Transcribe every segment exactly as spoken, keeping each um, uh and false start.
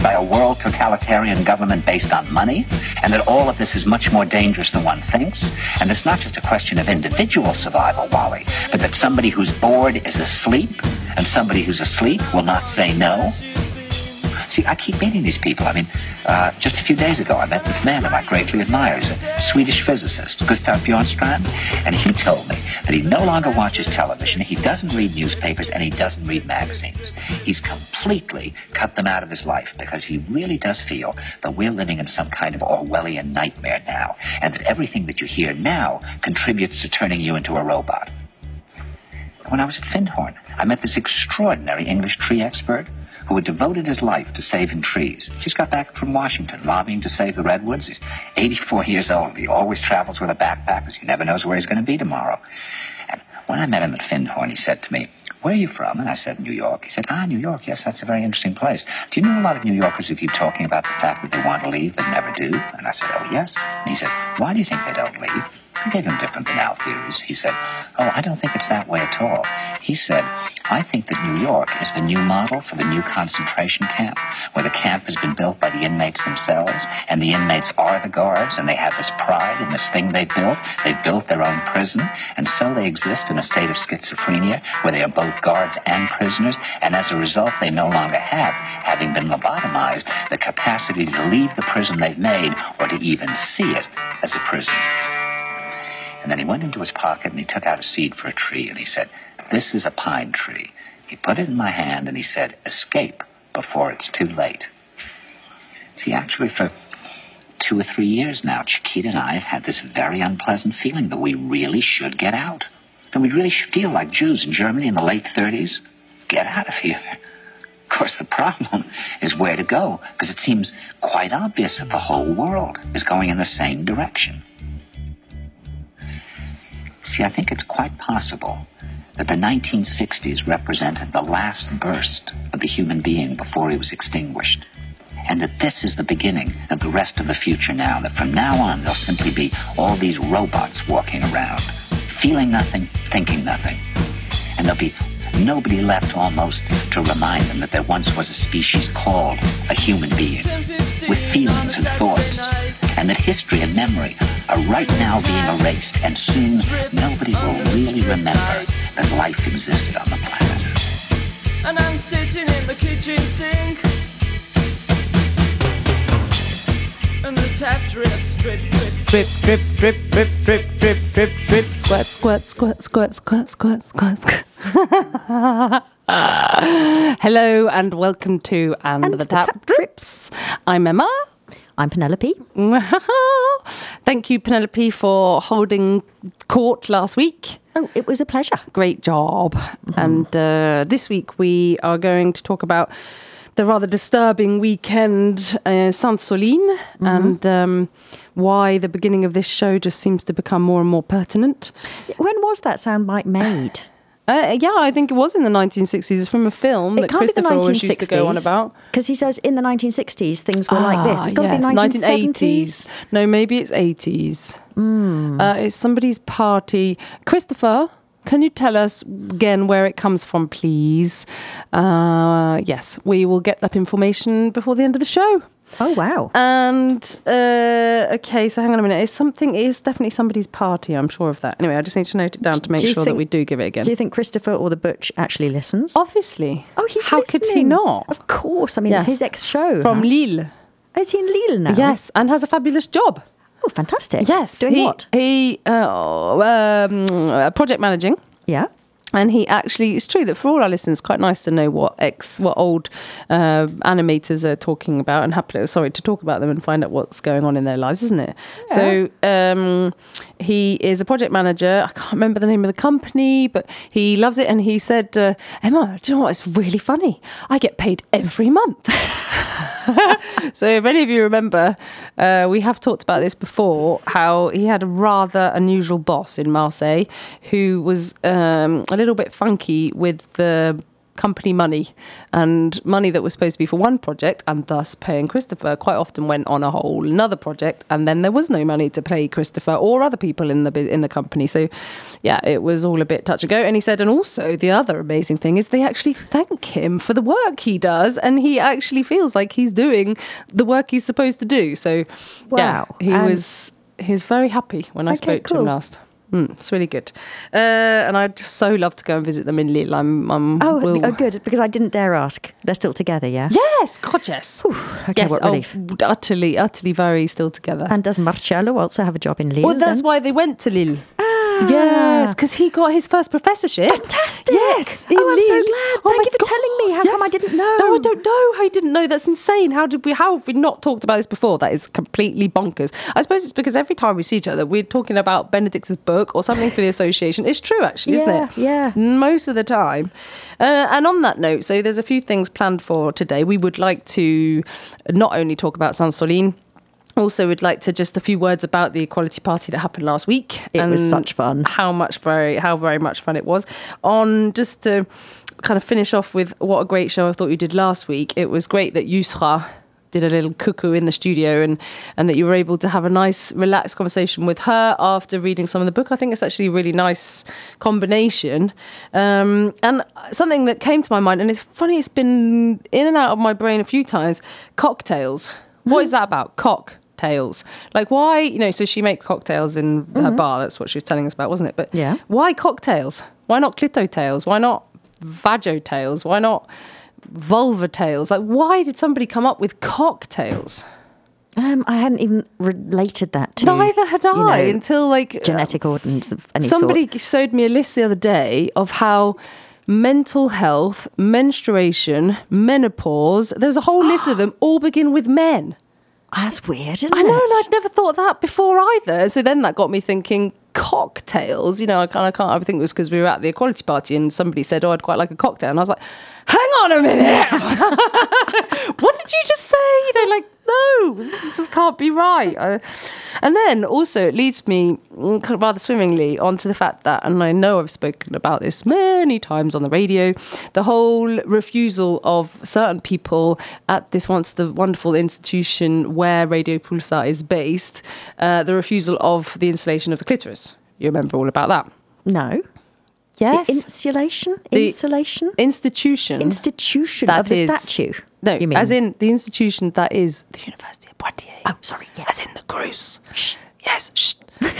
by a world totalitarian government based on money, and that all of this is much more dangerous than one thinks, and it's not just a question of individual survival, Wally, but that somebody who's bored is asleep, and somebody who's asleep will not say no. See, I keep meeting these people. I mean, uh, just a few days ago, I met this man that I greatly admire. He's a Swedish physicist, Gustav Bjornstrand, and he told me that he no longer watches television, he doesn't read newspapers, and he doesn't read magazines. He's completely cut them out of his life because he really does feel that we're living in some kind of Orwellian nightmare now, and that everything that you hear now contributes to turning you into a robot. When I was at Findhorn, I met this extraordinary English tree expert who had devoted his life to saving trees. Just got back from Washington, lobbying to save the redwoods. He's eighty-four years old. He always travels with a backpack because he never knows where he's going to be tomorrow. And when I met him at Findhorn, he said to me, "Where are you from?" And I said, "New York." He said, "Ah, New York, yes, that's a very interesting place. Do you know a lot of New Yorkers who keep talking about the fact that they want to leave but never do?" And I said, "Oh, yes." And he said, "Why do you think they don't leave?" I gave him different banal theories. He said, "Oh, I don't think it's that way at all." He said, "I think that New York is the new model for the new concentration camp, where the camp has been built by the inmates themselves, and the inmates are the guards, and they have this pride in this thing they built. They built their own prison, and so they exist in a state of schizophrenia, where they are both guards and prisoners, and as a result, they no longer have, having been lobotomized, the capacity to leave the prison they've made, or to even see it as a prison." And then he went into his pocket and he took out a seed for a tree and he said, "This is a pine tree." He put it in my hand and he said, "Escape before it's too late." See, actually for two or three years now, Chiquita and I have had this very unpleasant feeling that we really should get out. And we really should feel like Jews in Germany in the late thirties. Get out of here. Of course, the problem is where to go, because it seems quite obvious that the whole world is going in the same direction. See, I think it's quite possible that the nineteen sixties represented the last burst of the human being before he was extinguished, and that this is the beginning of the rest of the future now, that from now on there'll simply be all these robots walking around, feeling nothing, thinking nothing, and there'll be nobody left almost to remind them that there once was a species called a human being, with feelings and thoughts, and that history and memory are right now being erased, and soon nobody will really remember that life existed on the planet. And I'm sitting in the kitchen sink, and the tap drips, drip, drip, drip, drip, drip, drip, drip, drip, drip, drip, squirt, squirt, squirt, squirt, squirt, squirt, squirt, squirt. Hello and welcome to And, and the, the Tap, tap Drips. I'm Emma. I'm Penelope. Thank you, Penelope, for holding court last week. Oh, it was a pleasure. Great job. Mm-hmm. And uh, this week we are going to talk about the rather disturbing weekend uh, Sainte-Soline, mm-hmm. and um, why the beginning of this show just seems to become more and more pertinent. When was that soundbite made? Uh, yeah, I think it was in the nineteen sixties. It's from a film it that Christopher always used to go on about. Because he says in the nineteen sixties things were ah, like this. It's got yes, to be nineteen seventies. No, maybe it's eighties. Mm. Uh, it's somebody's party. Christopher, can you tell us again where it comes from, please? Uh, yes, we will get that information before the end of the show. Oh, wow. And, uh, okay, so hang on a minute. It's something, it is definitely somebody's party, I'm sure of that. Anyway, I just need to note it down to make sure think, that we do give it again. Do you think Christopher or the Butch actually listens? Obviously. Oh, he's How listening. could he not? Of course. I mean, yes. It's his ex-show. From huh? Lille. Is he in Lille now? Yes, and has a fabulous job. Oh, fantastic. Yes. Doing he, what? He, uh, um, uh, project managing. Yeah. And he actually, it's true that for all our listeners, it's quite nice to know what ex, what old uh, animators are talking about, and happily, sorry, to talk about them and find out what's going on in their lives, isn't it? Yeah. So um, he is a project manager. I can't remember the name of the company, but he loves it. And he said, uh, Emma, do you know what? It's really funny. I get paid every month. So if any of you remember, uh, we have talked about this before, how he had a rather unusual boss in Marseille who was um, a little bit funky with the company money, and money that was supposed to be for one project and thus paying Christopher quite often went on a whole another project, and then there was no money to pay Christopher or other people in the in the company. So yeah, it was all a bit touch and go. And he said, and also the other amazing thing is they actually thank him for the work he does, and he actually feels like he's doing the work he's supposed to do. So wow. yeah, he and was he was very happy when I okay, spoke cool. to him last. Mm, it's really good. Uh, and I'd just so love to go and visit them in Lille. I'm, I'm Oh, will... oh, good, because I didn't dare ask. They're still together, yeah? Yes, God, yes. Oof, okay, yes, what relief. Oh, utterly, utterly very still together. And does Marcello also have a job in Lille? Well, that's then? why they went to Lille. Ah. Yes, because he got his first professorship. Fantastic. Yes. Oh, I'm so Lille. glad. Oh Thank my you for God, telling me. How yes. come I didn't know? No, I don't know how you didn't know. That's insane. How did we, how have we not talked about this before? That is completely bonkers. I suppose it's because every time we see each other, we're talking about Benedict's book or something for the association. It's true, actually, isn't Yeah, it? yeah. Most of the time. Uh, and on that note, so there's a few things planned for today. We would like to not only talk about Sainte-Soline, also would like to just a few words about the Equality Party that happened last week. It and was such fun. How much very how very much fun it was. On just to kind of finish off with what a great show I thought you did last week. It was great that Yusra did a little cuckoo in the studio, and and that you were able to have a nice relaxed conversation with her after reading some of the book. I think it's actually a really nice combination. Um, and something that came to my mind, and it's funny, it's been in and out of my brain a few times, cocktails. What is that about? Cocktails. Like, why, you know, so she makes cocktails in her Mm-hmm. bar. That's what she was telling us about, wasn't it? But Yeah. why cocktails? Why not clitotails? Why not vajotails? Why not vulvatails? Like, why did somebody come up with cocktails? Um, I hadn't even related that to Neither had I you know, until like genetic ordinance of any somebody sort. showed me a list the other day of how mental health, menstruation, menopause, there's a whole list of them, all begin with men. That's weird, isn't I know, it? and I'd never thought that before either. So then that got me thinking, cocktails, you know, I can't, I can't, I think it was because we were at the Equality Party and somebody said, oh, I'd quite like a cocktail. And I was like, hang on a minute. What did you just say? You know, like, no, this just can't be right. Uh, and then also it leads me kind of rather swimmingly onto the fact that, and I know I've spoken about this many times on the radio, the whole refusal of certain people at this once the wonderful institution where Radio Pulsar is based, uh, the refusal of the installation of the clitoris. You remember all about that? No. Yes. The insulation? The Insulation? institution. Institution that of the is- statue? No, you mean? as in the institution that is the University of Poitiers. Oh, sorry, yeah. As in the Cruz. Shh. Yes, shh.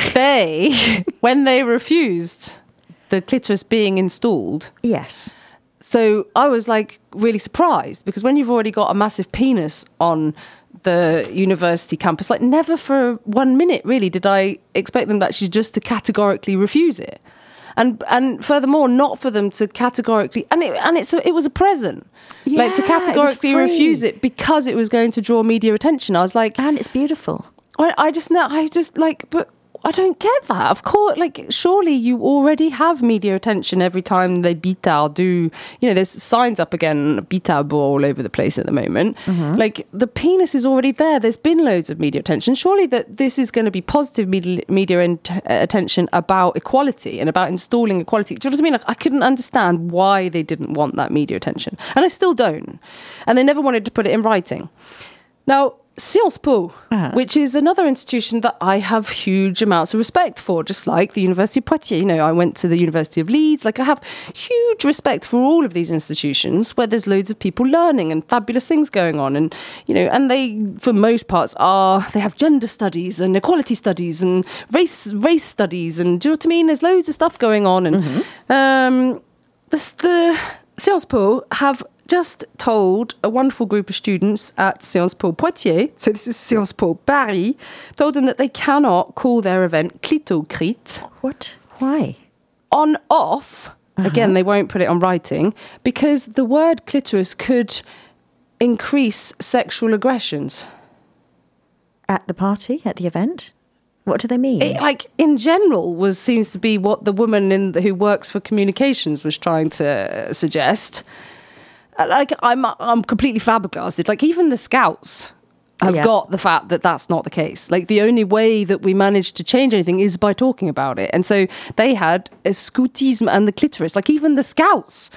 They, when they refused the clitoris being installed, Yes. so I was like really surprised, because when you've already got a massive penis on the university campus, like never for one minute really did I expect them actually just to categorically refuse it. And and furthermore, not for them to categorically, and it and it's a, it was a present, like to Yeah, it was categorically free. refuse it because it was going to draw media attention. I was like, And it's beautiful. I, I just know, I just like, but I don't get that. Of course, like, surely you already have media attention every time they Bitard do, you know, there's signs up again, Bitard all over the place at the moment. Mm-hmm. Like, the penis is already there. There's been loads of media attention. Surely that this is going to be positive media, media in, uh, attention about equality and about installing equality. Do you know what I mean? Like, I couldn't understand why they didn't want that media attention. And I still don't. And they never wanted to put it in writing. Now, Sciences Po, Uh-huh. which is another institution that I have huge amounts of respect for, just like the University of Poitiers. You know, I went to the University of Leeds. Like, I have huge respect for all of these institutions where there's loads of people learning and fabulous things going on. And, you know, and they, for most parts, are, they have gender studies and equality studies and race race studies. And do you know what I mean? There's loads of stuff going on. And um, the, the Sciences Po have just told a wonderful group of students at Sciences Po Poitiers, so this is Sciences Po Paris, told them that they cannot call their event Clitocrit. What? Why? On off, again, they won't put it on writing, because the word clitoris could increase sexual aggressions. At the party? At the event? What do they mean? It, like, in general, was seems to be what the woman in the, who works for communications was trying to suggest. Like, I'm I'm completely flabbergasted. Like, even the Scouts have Yeah. got the fact that that's not the case. Like, the only way that we managed to change anything is by talking about it. And so they had a scoutisme and the clitoris. Like, even the Scouts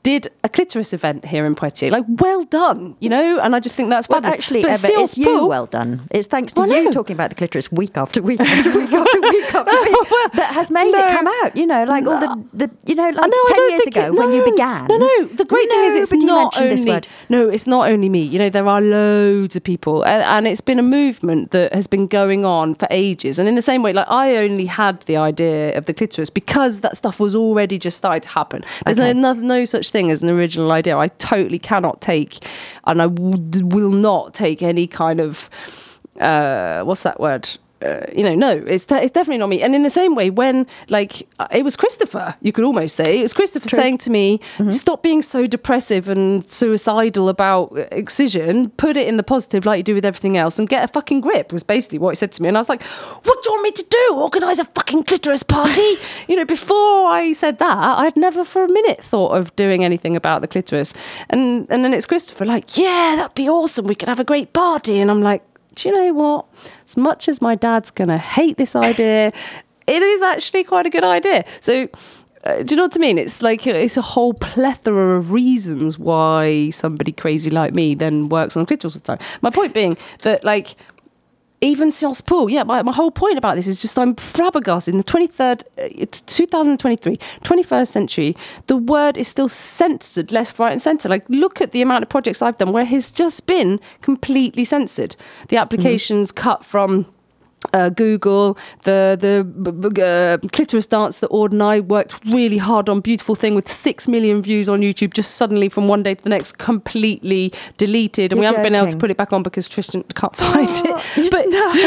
did a clitoris event here in Poitiers. Like, well done, you know? And I just think that's Well, fabulous. actually, But Eva, Sciences it's you Po- well done. It's thanks to I you know. talking about the clitoris week after week after week after week after week that has made No. it come out. You know, like all the, the you know, like I know, I ten don't years think ago it- when you no, began. No, no. The great thing is, it's nobody not mentioned only this word. no, it's not only me. You know, there are loads of people, and, and it's been a movement that has been going on for ages. And in the same way, like I only had the idea of the clitoris because that stuff was already just starting to happen. There's Okay. no, no no such thing as an original idea. I totally cannot take, and I w- will not take any kind of uh, what's that word? Uh, you know, no, it's de- it's definitely not me. And in the same way, when like uh, it was Christopher, you could almost say it was Christopher True. saying to me, "Stop being so depressive and suicidal about excision. Put it in the positive, like you do with everything else, and get a fucking grip." Was basically what he said to me. And I was like, "What do you want me to do? Organise a fucking clitoris party?" You know, before I said that, I had never for a minute thought of doing anything about the clitoris. And and then it's Christopher, like, "Yeah, that'd be awesome. We could have a great party." And I'm like, do you know what? As much as my dad's going to hate this idea, it is actually quite a good idea. So, uh, do you know what I mean? It's like it's a whole plethora of reasons why somebody crazy like me then works on clitoris all the time. My point being that, like, even Sciences Po, yeah, my, my whole point about this is just I'm flabbergasted. In the twenty-third, uh, it's two thousand twenty-three, twenty-first century, the word is still censored left, right and centre. Like, look at the amount of projects I've done where it has just been completely censored. The applications mm-hmm. cut from Uh, Google, the the b- b- uh, clitoris dance that Ord and I worked really hard on, beautiful thing with six million views on YouTube, just suddenly from one day to the next completely deleted, and You're we haven't been able to joking. put it back on because Tristan can't find it. But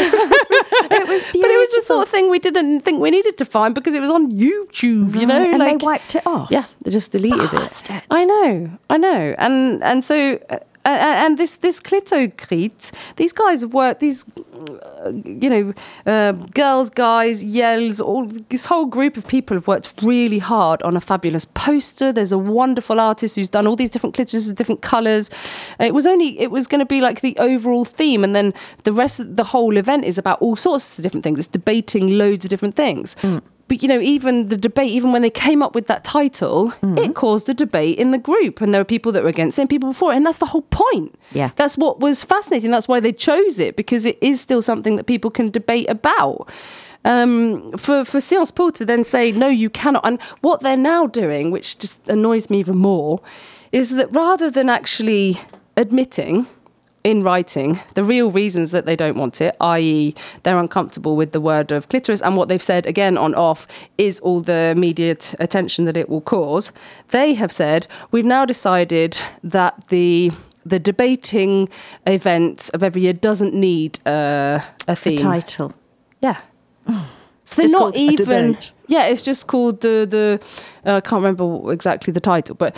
It was beautiful. but it was the sort of thing we didn't think we needed to find because it was on YouTube, you know, and like they wiped it off. yeah, they just deleted Bastards. it. I know, I know, and and so. Uh, uh, and this this Clitocrete, these guys have worked, these, uh, you know, uh, girls, guys, yells, all this whole group of people have worked really hard on a fabulous poster. There's a wonderful artist who's done all these different clitorises, different colours. It was only, it was going to be like the overall theme, and then the rest of the whole event is about all sorts of different things. It's debating loads of different things. Mm. But, you know, even the debate, even when they came up with that title, mm-hmm. it caused a debate in the group. And there were people that were against it and people for it. And that's the whole point. Yeah. That's what was fascinating. That's why they chose it, because it is still something that people can debate about. Um, for, for Sciences Po to then say, no, you cannot. And what they're now doing, which just annoys me even more, is that rather than actually admitting in writing the real reasons that they don't want it, that is they're uncomfortable with the word of clitoris, and what they've said again on off is all the immediate attention that it will cause, they have said, we've now decided that the the debating event of every year doesn't need uh, a theme. A title. Yeah. So they're Just not called a even. debate. Yeah, it's just called the the. Uh, I can't remember exactly the title, but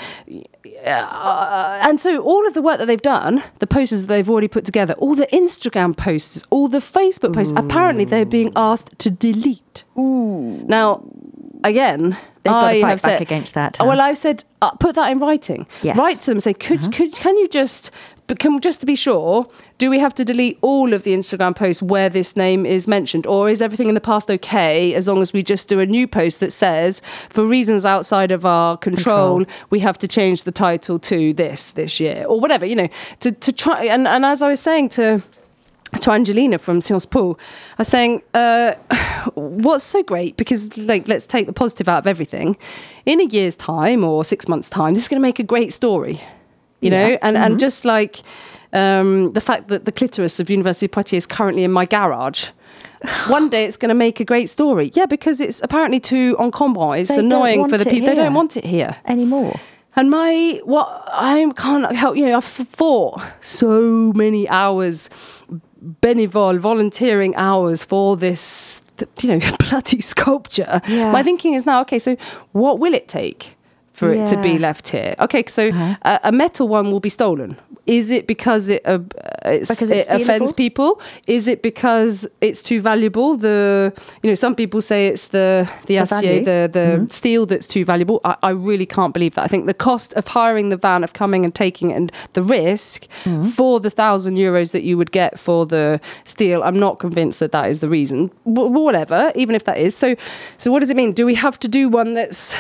uh, and so all of the work that they've done, the posters that they've already put together, all the Instagram posters, all the Facebook posts, Ooh. apparently they're being asked to delete. Ooh. Now, again, They've got I to fight have back said against that. Oh, huh? well, I've said uh, put that in writing. Yes. Write to them, say, could Uh-huh. could can you just. But can, just to be sure, do we have to delete all of the Instagram posts where this name is mentioned? Or is everything in the past okay as long as we just do a new post that says, for reasons outside of our control, Control. we have to change the title to this this year? Or whatever, you know, to, to try. And, and as I was saying to... to Angelina from Sciences Po, I was saying, uh, what's so great, because, like, let's take the positive out of everything. In a year's time or six months' time, this is going to make a great story, you Yeah. know? And, Mm-hmm. and just like um, the fact that the clitoris of University of Poitiers is currently in my garage, one day it's going to make a great story. Yeah, because it's apparently too encombrant. It's They don't annoying want for the it people. They here. don't want it here. Anymore. And my, what, I can't help, you know, I've fought so many hours, benevol, volunteering hours for this, you know, bloody sculpture. Yeah. My thinking is now, okay, so what will it take for it to be Yeah. left here? Okay, so Uh-huh. a, a metal one will be stolen. Is it because it uh, it's, Because it's it offends stealable? people? Is it because it's too valuable? The you know some people say it's the the, acier, value. the the Mm-hmm. steel that's too valuable. I, I really can't believe that. I think the cost of hiring the van, of coming and taking it, and the risk Mm-hmm. for the thousand euros that you would get for the steel, I'm not convinced that that is the reason. W- whatever, even if that is. So, so what does it mean? Do we have to do one that's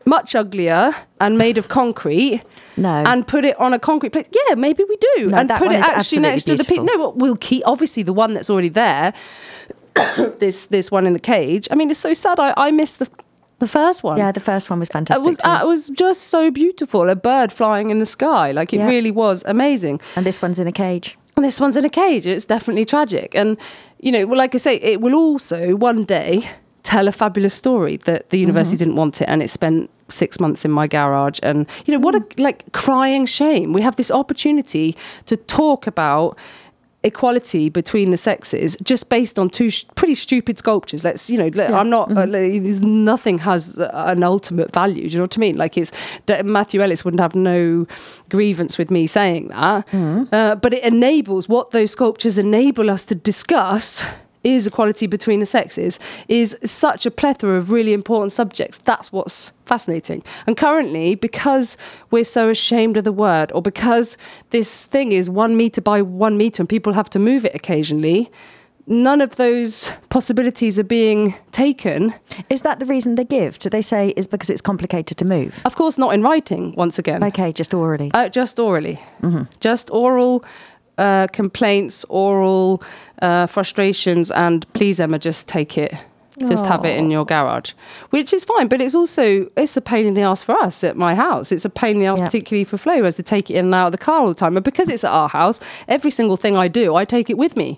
much uglier and made of concrete. No. And put it on a concrete plate. Yeah, maybe we do. No, and that put one it is actually next to the absolutely people. No, but we'll keep, obviously, the one that's already there, this this one in the cage. I mean, it's so sad. I, I missed the the first one. Yeah, the first one was It fantastic. was, too. uh, it was just so beautiful. A bird flying in the sky. Like, it Yeah. really was amazing. and this one's in a cage. And this one's in a cage. It's definitely tragic. And, you know, well, like I say, it will also one day tell a fabulous story that the university Mm-hmm. didn't want it and it spent six months in my garage. And, you know, what a, like, crying shame. We have this opportunity to talk about equality between the sexes just based on two sh- pretty stupid sculptures. Let's, you know, let, I'm not, uh, like, there's nothing has uh, an ultimate value. Do you know what I mean? Like, it's, that Matthew Ellis wouldn't have no grievance with me saying that. Uh, but it enables, what those sculptures enable us to discuss is equality between the sexes, is such a plethora of really important subjects. That's what's fascinating. And currently, because we're so ashamed of the word, or because this thing is one metre by one metre and people have to move it occasionally, none of those possibilities are being taken. Is that the reason they give? Do they say is because it's complicated to move? Of course, not in writing, once again. Okay, just orally. Uh, just orally. Just oral uh, complaints, oral uh, frustrations, and please, Emma, just take it. Just have it in your garage, which is fine. But it's also, it's a pain in the ass for us at my house. It's a pain in the ass, Yeah. particularly for Flo, who has to take it in and out of the car all the time. And because it's at our house, every single thing I do, I take it with me.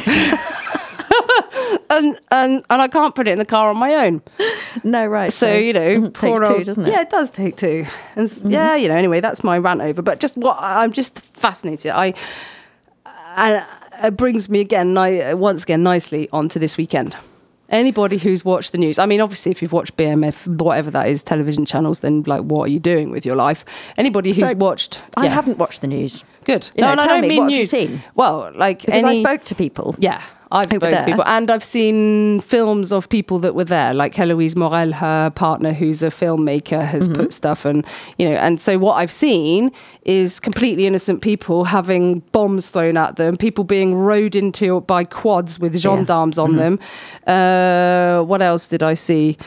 and, and, and I can't put it in the car on my own. No, right. So, you know, takes poor two, old- doesn't it? Yeah, it does take two. And s yeah, you know, anyway, that's my rant over. But just what I'm just fascinated. I and it brings me again, ni- once again, nicely onto this weekend. Anybody who's watched the news, I mean, obviously, if you've watched B M F, whatever that is, television channels, then like, what are you doing with your life? Anybody who's So, watched, I yeah, haven't watched the news. good. You know, no, no, tell I don't me, mean what have you news. seen? Well, like Because any, I spoke to people. yeah, I've who were spoken to there. people, and I've seen films of people that were there, like Heloise Morel, her partner, who's a filmmaker, has Mm-hmm. put stuff, and you know, and so what I've seen is completely innocent people having bombs thrown at them, people being rode into by quads with gendarmes on them. Uh, what else did I see?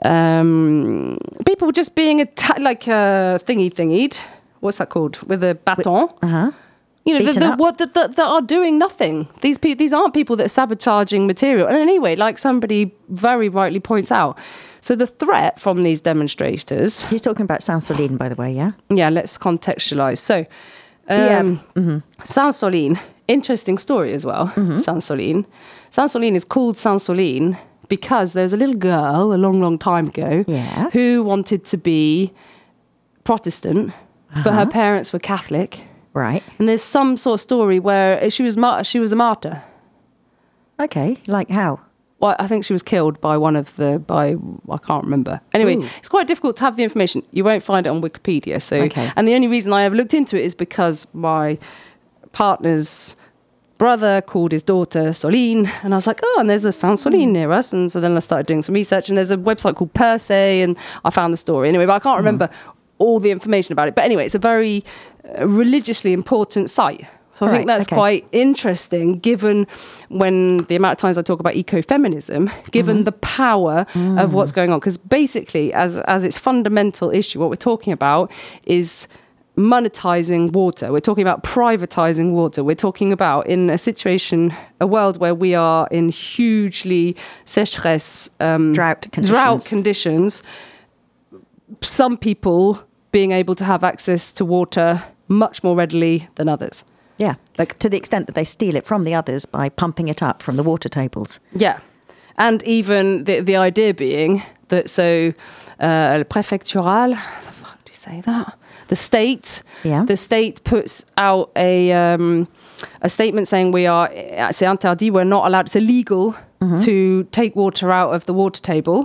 Um, people just being atta- like uh, thingy thingied. What's that called? With a baton. Uh-huh. You know, the, Beaten the, up. what that that that are doing nothing. These people, these aren't people that are sabotaging material. And anyway, like somebody very rightly points out, so the threat from these demonstrators. He's talking about Saint-Soline, by the way, yeah? Yeah, let's contextualize. So, Yeah. um, Saint-Soline, interesting story as well. Saint-Soline, Saint-Soline is called Saint-Soline because there's a little girl a long, long time ago Yeah. who wanted to be Protestant, but her parents were Catholic. Right. And there's some sort of story where she was mar- she was a martyr. Okay, like how? Well, I think she was killed by one of the by I can't remember. Anyway, Ooh. it's quite difficult to have the information. You won't find it on Wikipedia. So, Okay. and the only reason I ever looked into it is because my partner's brother called his daughter Soline, and I was like, oh, and there's a Saint Soline near us, and so then I started doing some research, and there's a website called Perse, and I found the story anyway, but I can't remember all the information about it. But anyway, it's a very uh, religiously important site. So I Right, think that's okay. quite interesting, given when the amount of times I talk about ecofeminism, given the power of what's going on. Because basically, as as its fundamental issue, what we're talking about is monetizing water. We're talking about privatizing water. We're talking about in a situation, a world where we are in hugely sécheresse, um, Drought conditions. drought conditions. Some people being able to have access to water much more readily than others. Yeah. Like- to the extent that they steal it from the others by pumping it up from the water tables. Yeah. And even the the idea being that so uh, préfectural, the fuck do you say that? The state, Yeah. the state puts out a um, a statement saying we are c'est interdit, we're not allowed, it's illegal to take water out of the water table.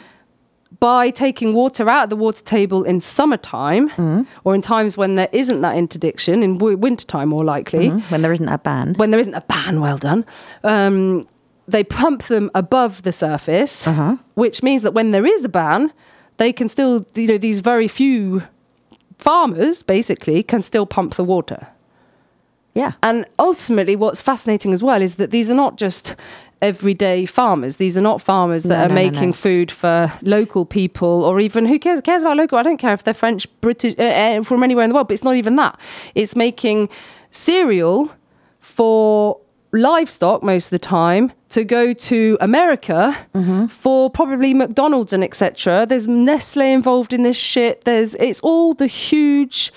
By taking water out of the water table in summertime or in times when there isn't that interdiction, in w- wintertime more likely, When there isn't a ban. when there isn't a ban, well done, um, they pump them above the surface, Uh-huh. which means that when there is a ban, they can still, you know, these very few farmers basically can still pump the water. Yeah. And ultimately, what's fascinating as well is that these are not just everyday farmers. These are not farmers that No, are no, no, making no. food for local people, or even who cares cares about local. I don't care if they're French, British, uh, uh, from anywhere in the world, but it's not even that. It's making cereal for livestock most of the time to go to America Mm-hmm. for probably McDonald's and et cetera. There's Nestle involved in this shit. There's it's all the huge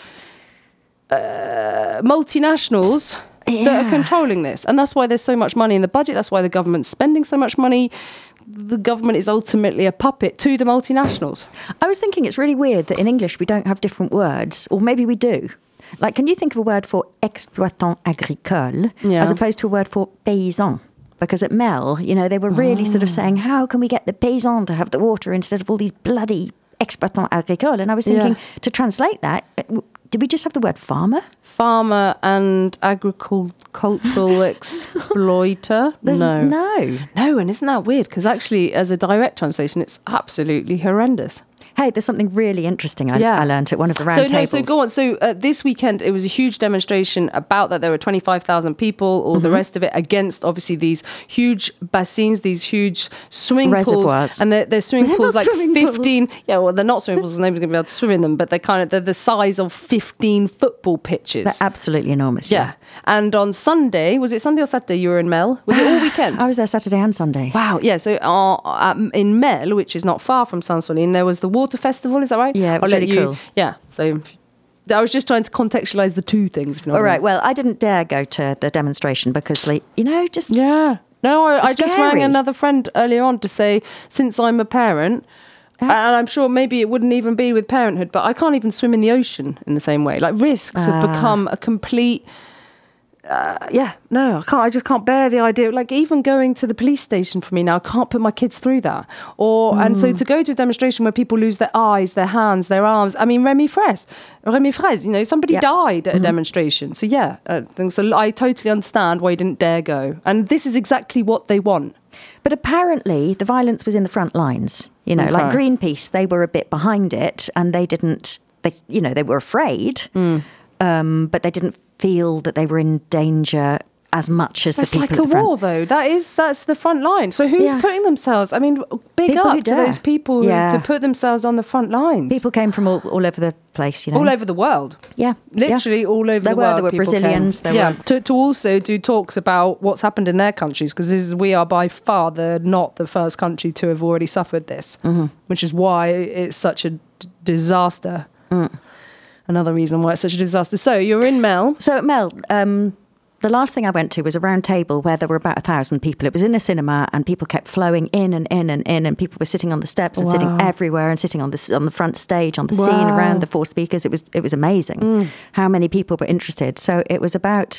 uh, multinationals that Yeah. are controlling this, and that's why there's so much money in the budget. That's why the government's spending so much money. The government is ultimately a puppet to the multinationals. I was thinking it's really weird that in English we don't have different words, or maybe we do. Like, can you think of a word for exploitant agricole Yeah. as opposed to a word for paysan? Because at Mel, you know, they were really sort of saying, how can we get the paysan to have the water instead of all these bloody exploitants agricoles? And I was thinking, Yeah. to translate that, did we just have the word farmer? Farmer and agricultural exploiter. There's- no. No. No, and isn't that weird? Because actually, as a direct translation, it's absolutely horrendous. Hey, there's something really interesting I, Yeah. I learned at one of the round So tables. no, so go on. So uh, this weekend it was a huge demonstration about that. There were twenty-five thousand people, all the rest of it, against obviously these huge bassins, these huge swimming Reservoirs. pools, and they're, they're swimming They're pools not like swimming pools. fifteen. Yeah, well, they're not swimming pools. Nobody's going to be able to swim in them, but they're kind of they're the size of fifteen football pitches. They're absolutely enormous. yeah. And on Sunday, was it Sunday or Saturday? You were in Mel. Was it all weekend? I was there Saturday and Sunday. Wow, yeah. So uh, um, in Mel, which is not far from Saint-Solin, there was the water festival. Is that right? Yeah, it was I'll let really you, cool. Yeah. So I was just trying to contextualise the two things. If you know All what I right, mean. well, I didn't dare go to the demonstration because, like, you know, just... Yeah. No, I, I just rang Scary. another friend earlier on to say, since I'm a parent, and I'm sure maybe it wouldn't even be with parenthood, but I can't even swim in the ocean in the same way. Like risks have Ah. become a complete. Uh, yeah, no, I can't. I just can't bear the idea. Like even going to the police station for me now, I can't put my kids through that. Or and so to go to a demonstration where people lose their eyes, their hands, their arms. I mean, Remy Fraisse, Remy Fraisse. You know, somebody Yep. died at a demonstration. So yeah, I think so. I totally understand why you didn't dare go. And this is exactly what they want. But apparently the violence was in the front lines. You know, like Okay. Greenpeace, they were a bit behind it and they didn't, they, you know, they were afraid, Hmm. um, but they didn't feel that they were in danger as much as It's the people like a at the front. war, though. That is that's the front line. So who's Yeah. putting themselves? I mean, big People who up to dare. those people who, Yeah. to put themselves on the front lines. People came from all, all over the place, you know. all over the world. Yeah. Literally yeah. all over There the were, world. there were people Brazilians, came. there yeah, were- to, to also do talks about what's happened in their countries, because this is we are by far the not the first country to have already suffered this, Mm-hmm. which is why it's such a d- disaster. Mm. Another reason why it's such a disaster. So you're in Mel. So at Mel, um, the last thing I went to was a round table where there were about a thousand people. It was in a cinema, and people kept flowing in and in and in, and people were sitting on the steps and sitting Wow. everywhere, and sitting on the on the front stage, on the scene, Wow. around the four speakers. It was it was amazing how many people were interested. So it was about.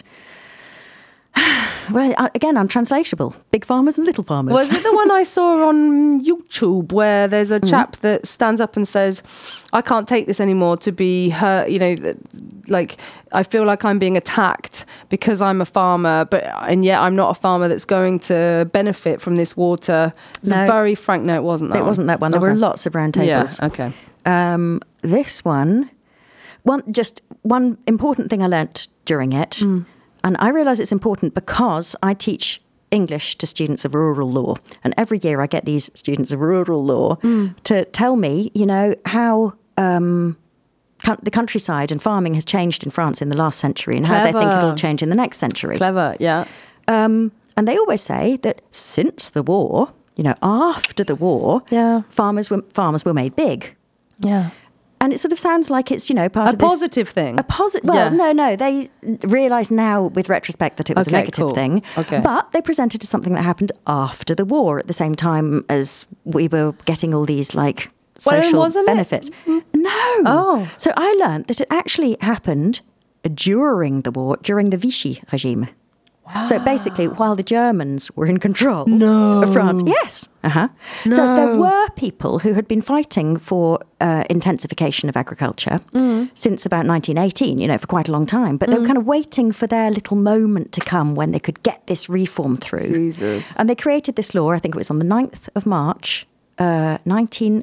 Well, uh, again, untranslatable. Big farmers and little farmers. Was it the one I saw on YouTube where there's Mm-hmm. a chap that stands up and says, I can't take this anymore to be hurt, you know, th- like I feel like I'm being attacked because I'm a farmer, but and yet I'm not a farmer that's going to benefit from this water. It's No. a very frank, no, it wasn't that It one. wasn't that one. There Okay. were lots of round tables. Yeah, okay. Um, this one, one just one important thing I learnt during it, and I realise it's important because I teach English to students of rural law, and every year I get these students of rural law to tell me, you know, how um, coun- the countryside and farming has changed in France in the last century, and how they think Clever. it'll change in the next century. Clever, yeah. Um, and they always say that since the war, you know, after the war, Yeah. farmers were farmers were made big. Yeah. And it sort of sounds like it's, you know, part A of this... positive thing. A positive... Well, Yeah. no, no. They realise now, with retrospect, that it was Okay, a negative cool. thing. Okay. But they presented as something that happened after the war, at the same time as we were getting all these, like, Well, social wasn't it? benefits. No. Oh. So I learned that it actually happened during the war, during the Vichy regime. So basically, while the Germans were in control No. of France, yes, uh-huh. So there were people who had been fighting for uh, intensification of agriculture Mm. since about nineteen eighteen, you know, for quite a long time. But they were kind of waiting for their little moment to come when they could get this reform through. Jesus. And they created this law, I think it was on the ninth of March, uh, nineteen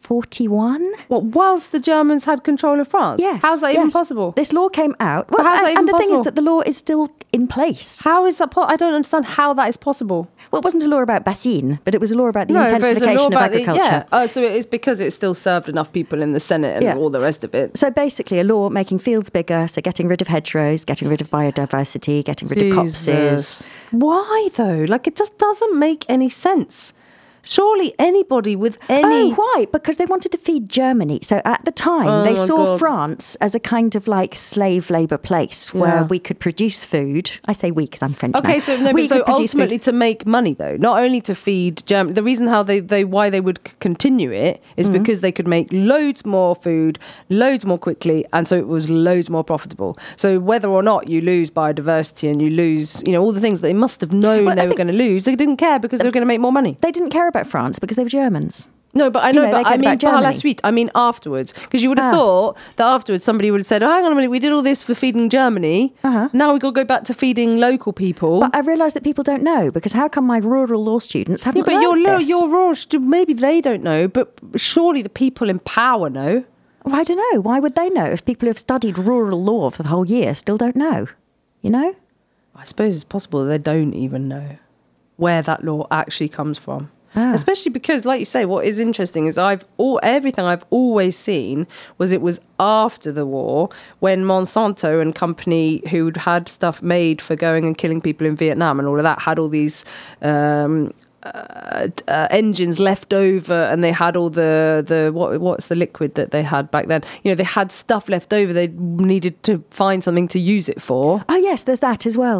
forty-one. What, whilst the Germans had control of France? Yes. How's that even yes. possible? This law came out. Well, how's that and, even and the thing possible? is that the law is still in place. How is that? Po- I don't understand how that is possible. Well, it wasn't a law about bassine, but it was a law about the No, but it's a law intensification of about the, agriculture. yeah. Oh, so it is because it still served enough people in the Senate and Yeah. all the rest of it. So basically, a law making fields bigger, so getting rid of hedgerows, getting rid of biodiversity, getting rid of copses. Jesus. Why though? Like, it just doesn't make any sense. Surely anybody with any... Oh, why? Because they wanted to feed Germany. So at the time, Oh they my saw God. France as a kind of like slave labour place where Yeah. we could produce food. I say we because I'm French Okay, now. so no, we but so could produce food. ultimately to make money though, not only to feed Germany. The reason how they, they why they would c- continue it is Mm-hmm. because they could make loads more food, loads more quickly, and so it was loads more profitable. So whether or not you lose biodiversity and you lose, you know, all the things that they must have known Well, they I were think- going to lose, they didn't care because they were going to make more money. They didn't care about France because they were Germans. No, but I You know, know, they but I cared mean, about par la Germany. suite. I mean, afterwards, because you would have Ah. thought that afterwards somebody would have said, "Oh, hang on a minute, we did all this for feeding Germany. Uh-huh. Now we got to go back to feeding local people." But I realise that people don't know because how come my rural law students haven't Yeah, but learned your lo- this? your raw stu- maybe they don't know, but surely the people in power know. Well, I don't know. Why would they know if people who have studied rural law for the whole year still don't know? You know? I suppose it's possible that they don't even know where that law actually comes from. Ah. Especially because, like you say, what is interesting is I've all everything I've always seen was it was after the war when Monsanto and company who'd had stuff made for going and killing people in Vietnam and all of that had all these um, uh, uh, engines left over, and they had all the the what what's the liquid that they had back then? You know, they had stuff left over. They needed to find something to use it for. Oh, yes, there's that as well.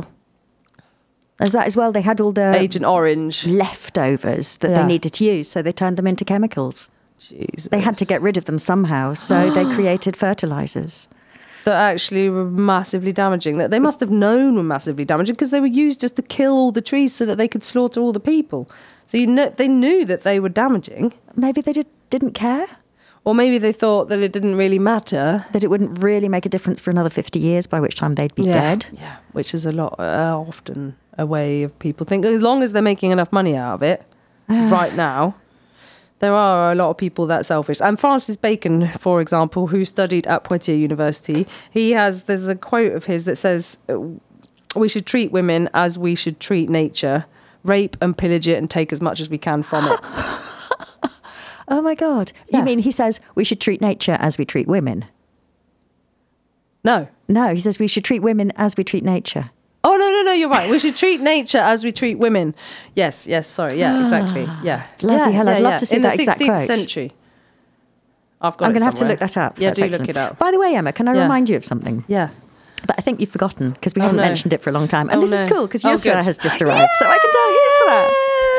There's that as well. They had all the Agent Orange. leftovers that Yeah. they needed to use, so they turned them into chemicals. Jesus. They had to get rid of them somehow, so they created fertilizers. that actually were massively damaging, that they must have known were massively damaging because they were used just to kill all the trees so that they could slaughter all the people. So you know, they knew that they were damaging. Maybe they did, didn't care, Or maybe they thought that it didn't really matter. that it wouldn't really make a difference for another fifty years, by which time they'd be dead. Yeah, which is a lot, uh, often a way of people think. As long as they're making enough money out of it right now, there are a lot of people that selfish. And Francis Bacon, for example, who studied at Poitiers University, he has, there's a quote of his that says, we should treat women as we should treat nature, rape and pillage it and take as much as we can from it. Oh my God. Yeah. You mean he says we should treat nature as we treat women? No. No, he says we should treat women as we treat nature. Oh, no, no, no, you're right. We should treat nature as we treat women. Yes, yes, sorry. Yeah, exactly. Yeah. Bloody yeah, hell, I'd yeah, love yeah. to see In that the exact sixteenth quote. century. I've got I'm it going to have to somewhere. look that up. Yeah, That's do excellent. look it up. By the way, Emma, can I Yeah. remind you of something? Yeah. But I think you've forgotten because we Oh, haven't no. mentioned it for a long time. And Oh, this is no. cool because Oh, Yusra good. has just arrived. So I can tell Yusra.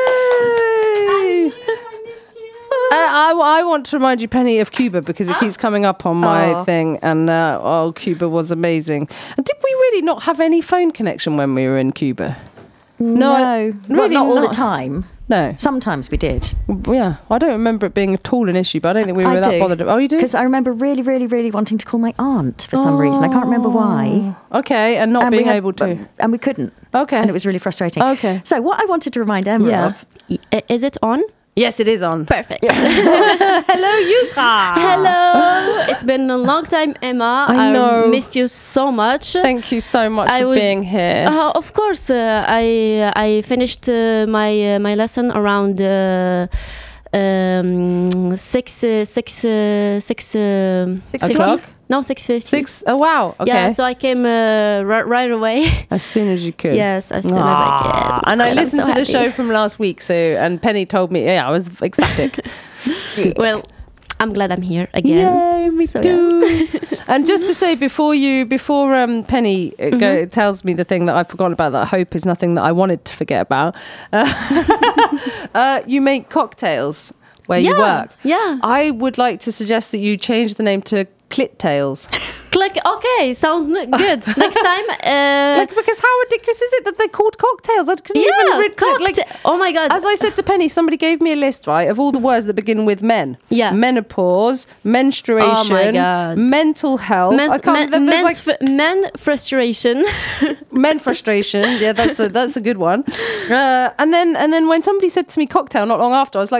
Uh, I, I want to remind you, Penny, of Cuba because it keeps coming up on my Oh. thing. And uh, oh, Cuba was amazing. And did we really not have any phone connection when we were in Cuba? No, I- well, really not all the not. time. No. Sometimes we did. Yeah, I don't remember it being at all an issue, but I don't think we were I that do. bothered. Oh, you do? Because I remember really, really, really wanting to call my aunt for some reason. I can't remember why. Okay, and not And we being had- able to. And we couldn't. Okay. And it was really frustrating. Okay. So what I wanted to remind Emma Yeah. of. I- Is it on? Yes, it is on. Perfect. Hello, Yusra. Hello. It's been a long time, Emma. I know. missed you so much. Thank you so much I for was- being here. Uh, of course, uh, I I finished uh, my uh, my lesson around uh, um, six uh, six uh, six uh, Six fifty? o'clock? No, six fifty. Six. Oh wow. Okay. Yeah, so I came uh, ri- right away. As soon as you could. Yes, as soon as I Ah, can. And I I'm listened so to the happy. show from last week, so and Penny told me, yeah, I was ecstatic. Well, I'm glad I'm here again. Yay, me So, too. And just to say, before you, before um, Penny uh, go, tells me the thing that I've forgotten about, that I hope is nothing that I wanted to forget about, uh, uh, you make cocktails where you Yeah, work. yeah. I would like to suggest that you change the name to Clit Tales. Click. Okay, sounds n- good. Next time. Uh, Like, because how ridiculous is it that they're called cocktails? I couldn't yeah, even read, cockta- like, oh my god. as I said to Penny, somebody gave me a list, right, of all the words that begin with men. Yeah. Menopause, menstruation, Oh my God. mental health. Men's, I can't, men, there's men's like fr- men frustration. men frustration. Yeah, that's a that's a good one. Uh, and then and then when somebody said to me cocktail not long after, I was like,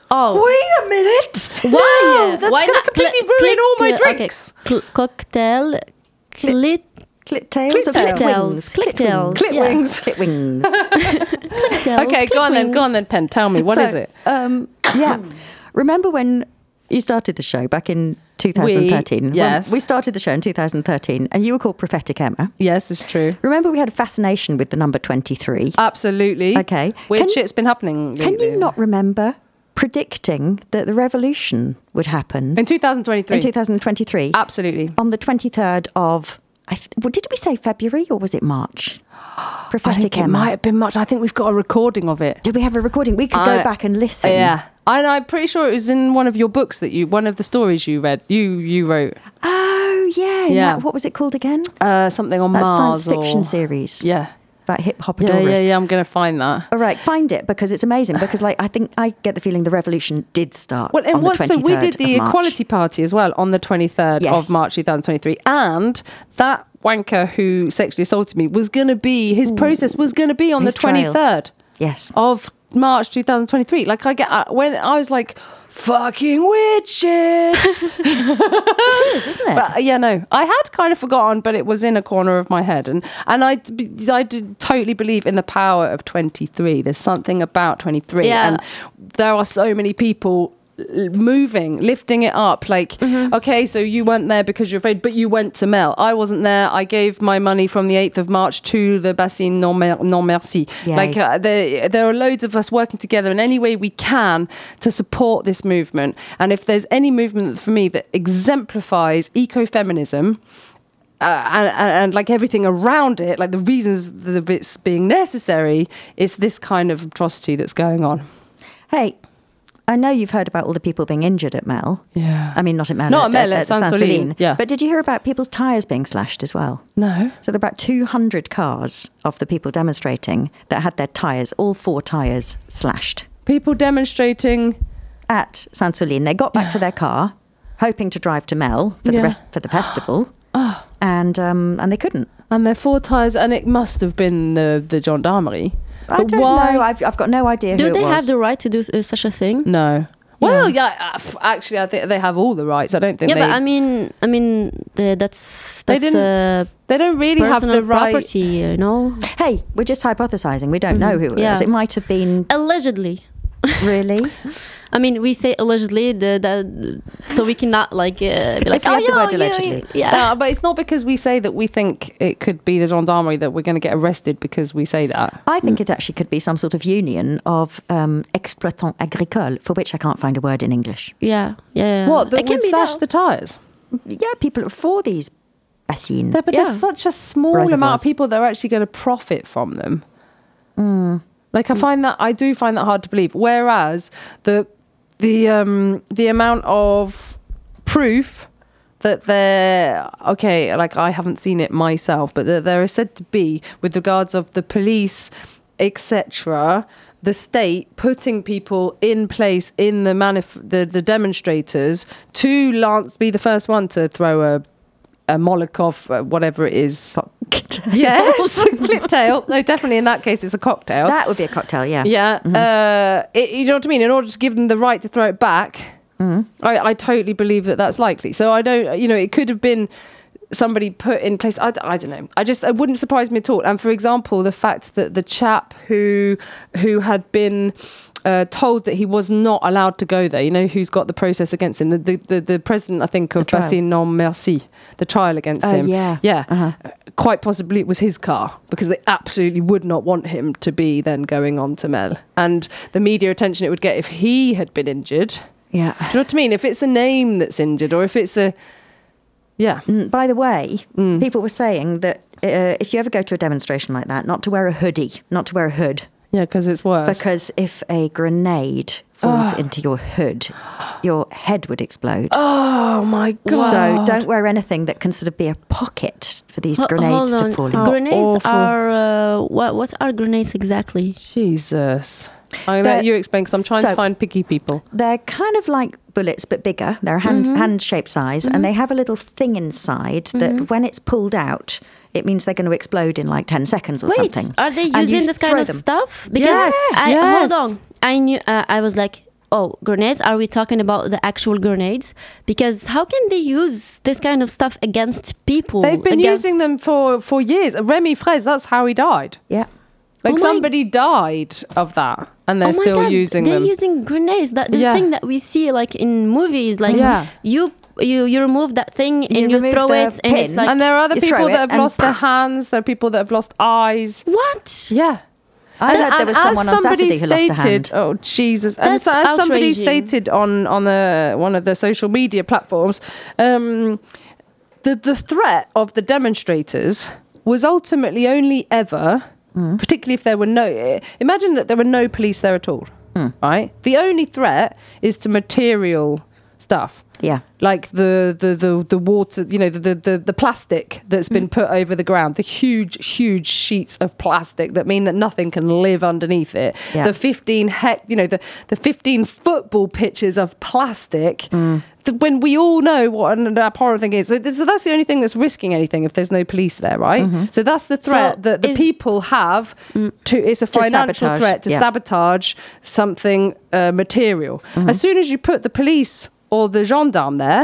Oh, Wait a minute. why? that's why gonna not? completely Cl- ruin all my clit- okay. drinks. Cl- cocktail, clit, Clit tails or clit Clitails. wings? Clitails. Clit Yeah. wings. Clit wings. clitails, Okay, go on then. Go on then, Pen. Tell me, what so, is it? Um, yeah. Remember when you started the show back in twenty thirteen? We- yes. Well, we started the show in two thousand thirteen and you were called Prophetic Emma. Yes, it's true. Remember we had a fascination with the number twenty-three? Absolutely. Okay. Weird Can- shit's been happening Can lately. you not remember predicting that the revolution would happen In two thousand twenty-three. in two thousand twenty-three Absolutely. on the twenty-third of, I th- well, did we say February or was it March? Prophetic I think it Emma. might have been much. I think we've got a recording of it. Did we have a recording? We could go I- back and listen. Yeah. And I'm pretty sure it was in one of your books that you, one of the stories you read, you you wrote. Oh, yeah. Yeah. That- what was it called again? Uh, something on That Mars science fiction or, series. Yeah. About hip Yeah, hopadoras. yeah, yeah. I'm going to find that. All right, find it because it's amazing. Because, like, I think I get the feeling the revolution did start. Well, and on what's the so we did twenty-third the of March. Equality Party as well on the twenty-third Yes. of March twenty twenty-three, and that wanker who sexually assaulted me was going to be his process was going to be on His the trial. twenty-third Yes. of March twenty twenty-three. Like I get uh, when I was like, fucking weird shit. It is, isn't it? But uh, yeah, no, I had kind of forgotten, but it was in a corner of my head, and and I I did totally believe in the power of twenty-three. There's something about twenty-three, Yeah. and there are so many people l- moving, lifting it up. Like, okay, so you weren't there because you're afraid, but you went to Mel. I wasn't there. I gave my money from the eighth of March to the Bassin Non, Mer- non Merci. Yay. Like, uh, there, there are loads of us working together in any way we can to support this movement. And if there's any movement for me that exemplifies ecofeminism, uh, and, and, and like everything around it, like the reasons that it's being necessary, it's this kind of atrocity that's going on. Hey, I know you've heard about all the people being injured at Mel. Yeah. I mean, not at Mel. Not at, at Mel, at Saint-Soline. Saint-Soline, yeah. But did you hear about people's tyres being slashed as well? No. So there were about two hundred cars of the people demonstrating that had their tyres, all four tyres, slashed. People demonstrating. At Saint-Soline. They got back to their car, hoping to drive to Mel for Yeah. the rest for the festival. And um, and they couldn't. And they're four tyres, and it must have been the, the gendarmerie. I But don't why? know. I've, I've got no idea Do who they it was. have the right to do uh, such a thing? No. Well, yeah. uh, f- actually, I think they have all the rights. I don't think Yeah, they. but I mean, I mean, the, that's They that's didn't- uh, they don't really have personal the right. property, you know. Hey, we're just hypothesizing. We don't know who it Yeah. was. It might have been Allegedly. really. I mean, we say allegedly, the, the, so we cannot like uh, be like, If you oh, have the yeah, word yeah, allegedly. yeah. No, but it's not because we say that we think it could be the gendarmerie that we're going to get arrested because we say that. I think it actually could be some sort of union of um, exploitants agricoles, for which I can't find a word in English. Yeah, yeah, yeah. What? It That can would be slash that. the tyres? Yeah, people for these bassines. Yeah, but Yeah. there's such a small amount Reservoirs. of people that are actually going to profit from them. Like I find that I do find that hard to believe. Whereas the the um the amount of proof that they're okay, like I haven't seen it myself, but there, there is said to be with regards of the police, et cetera. The state putting people in place in the manif- the the demonstrators to lance be the first one to throw a a Molotov, uh, whatever it is. Yes, clip tail. No, definitely in that case it's a cocktail. That would be a cocktail, yeah. Yeah, uh, it, you know what I mean. In order to give them the right to throw it back, I, I totally believe that that's likely. So I don't, you know, it could have been somebody put in place. I, d- I don't know. I just it wouldn't surprise me at all. And for example, the fact that the chap who who had been uh, told that he was not allowed to go there, you know, who's got the process against him, the the, the, the president, I think, of The trial. Bassin Non Merci, the trial against Oh, him. yeah. Yeah. Uh-huh. Uh, Quite possibly it was his car because they absolutely would not want him to be then going on to Mel. And the media attention it would get if he had been injured. Yeah. Do you know what I mean? If it's a name that's injured or if it's a... Yeah. Mm, By the way, people were saying that uh, if you ever go to a demonstration like that, not to wear a hoodie, not to wear a hood, Yeah, because it's worse. because if a grenade falls into your hood, your head would explode. Oh my God. So don't wear anything that can sort of be a pocket for these Ho- grenades hold to on. fall in. How Grenades awful. are uh, what? What are grenades exactly? Jesus. I'm going to They're- let you explain because I'm trying so- to find picky people. They're kind of like bullets, but bigger. They're a hand, hand-shaped size, and they have a little thing inside that when it's pulled out, it means they're going to explode in like ten seconds or Wait, something. are they And you using this kind throw of them. stuff? Because Yes, I, yes. hold on, I knew. Uh, I was like, oh, grenades, are we talking about the actual grenades? Because how can they use this kind of stuff against people? They've been against- using them for, for years. Remy Fraisse, that's how he died. Yeah. Like Oh my- somebody died of that, and they're Oh my still God, using they're them. using grenades. That the Yeah. thing that we see like in movies, like Yeah. you you you remove that thing and You you, remove throw the it, and it's pin. like and there are other You throw people it that have and lost their hands. There are people that have lost eyes. what? Yeah. I heard there was someone on Saturday who lost a hand. Oh Jesus! And That's so, as somebody outraging. stated on on the one of the social media platforms, um, the the threat of the demonstrators was ultimately only ever, particularly if there were no. Imagine that there were no police there at all. Right. The only threat is to material stuff. Yeah. Like the the the, the water, you know, the, the the plastic that's been put over the ground, the huge huge sheets of plastic that mean that nothing can live underneath it. Yeah. The fifteen hec, you know, the the fifteen football pitches of plastic. The, when we all know what an abhorrent thing is, so, th- so that's the only thing that's risking anything if there's no police there, right? So that's the threat So that the is- people have to. It's a financial sabotage, threat to yeah. sabotage something uh, material. As soon as you put the police or the gendarme there,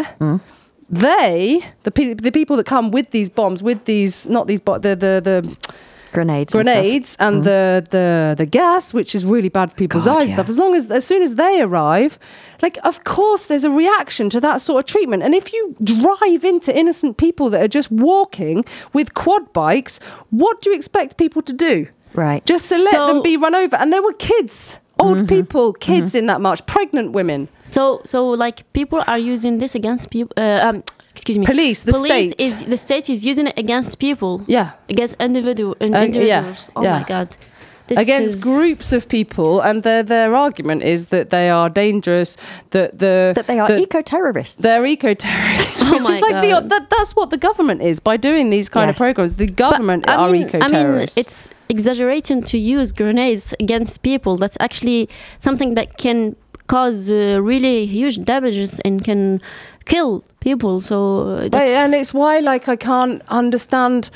they, the pe- the people that come with these bombs, with these, not these, but the the the Grenades. and stuff. grenades and, the, the the gas, which is really bad for people's God, eyes and yeah. stuff. As long as, as soon as they arrive, like, of course, there's a reaction to that sort of treatment. And if you drive into innocent people that are just walking with quad bikes, what do you expect people to do? Right. Just to let So- them be run over. And there were kids, old people, kids in that march, pregnant women. So so like people are using this against people. Uh, um, excuse me. Police, the Police state. is the state is using it against people. Yeah. Against individual in- Uh, yeah, individuals. Oh yeah. my God. This Against is- groups of people, and their their argument is that they are dangerous, that the That they are that eco-terrorists. they're eco-terrorists, Oh which my is like the God. that, that's what the government is by doing these kind of Yes. programs. The But, government I are mean, I mean, eco-terrorists. it's exaggerating to use grenades against people. That's actually something that can cause uh, really huge damages and can kill people. So uh, Right, that's, and it's why, like, I can't understand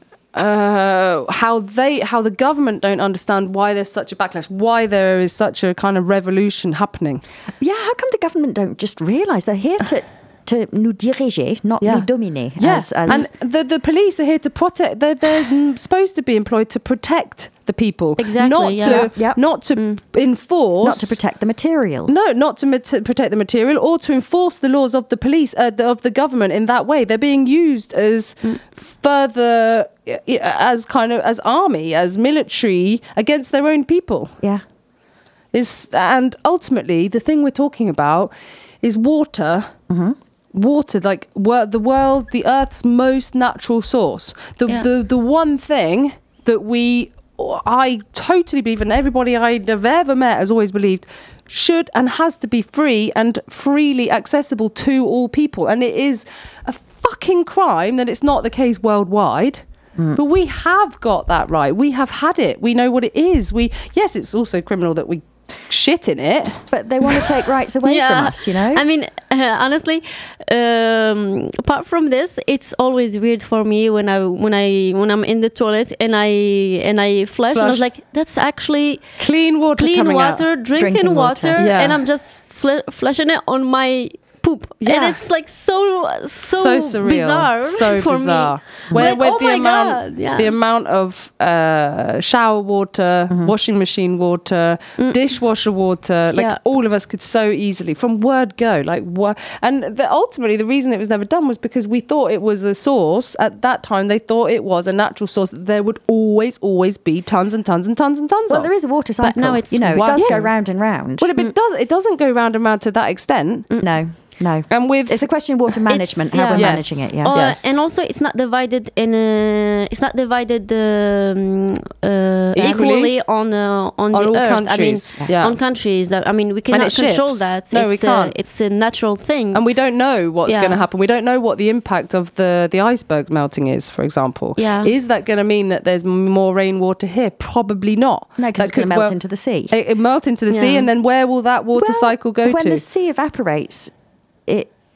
uh, how they, how the government don't understand why there's such a backlash, why there is such a kind of revolution happening. Yeah, how come the government don't just realise they're here to to nous diriger, not Yeah. nous dominer? Yes, As, as and the the police are here to protect. They're they're mm, supposed to be employed to protect the people, Exactly, not yeah. to Yeah, yeah. not to enforce, not to protect the material. No, not to mat- protect the material or to enforce the laws of the police, uh, the, of the government in that way. They're being used as further, uh, as kind of, as army, as military against their own people. Yeah. Is and ultimately the thing we're talking about is water. Water, like wor- the world, the Earth's most natural source. The Yeah. the the one thing that we, I totally believe, and everybody I've ever met has always believed, should and has to be free and freely accessible to all people. And it is a fucking crime that it's not the case worldwide. But we have got that right. We have had it. We know what it is. We yes, it's also criminal that we shit in it. But they want to take rights away from us, you know? I mean, uh, honestly, um, apart from this, it's always weird for me when I when I when I'm in the toilet and I and I flush, and I was Flush. like, that's actually Clean water clean coming water, out. drinking, Drinking water, water. Yeah. and I'm just fl- flushing it on my poop, Yeah. and it's like so so, So surreal, bizarre, so for bizarre. me. Where, Like, with oh the my amount, God, yeah. the amount of uh, shower water, washing machine water, dishwasher water, like Yeah. all of us could so easily from word go, like what? And the, ultimately, the reason it was never done was because we thought it was a source at that time. They thought it was a natural source that there would always, always be tons and tons and tons and tons well, of. there is a water cycle. now it's you know, it wild. does Yes. go round and round. Well, it, it does. It doesn't go round and round to that extent. No, no. And with It's a question of water management, how yeah. we're Yes. managing it, yeah. Oh, Yes. and also it's not divided in a, it's not divided um, uh, Equally? equally on uh, on, On the all earth. countries. I mean, Yeah. on countries. That, I mean, we And cannot it control shifts. that. No, it's we can't. A, it's a natural thing. And we don't know what's Yeah. going to happen. We don't know what the impact of the, the icebergs melting is, for example. Yeah. Is that going to mean that there's m- more rainwater here? Probably not. No, because That it's going to could melt well- into the sea. It, it melt into the sea, Yeah. and then where will that water Well, cycle go when to? the sea evaporates, it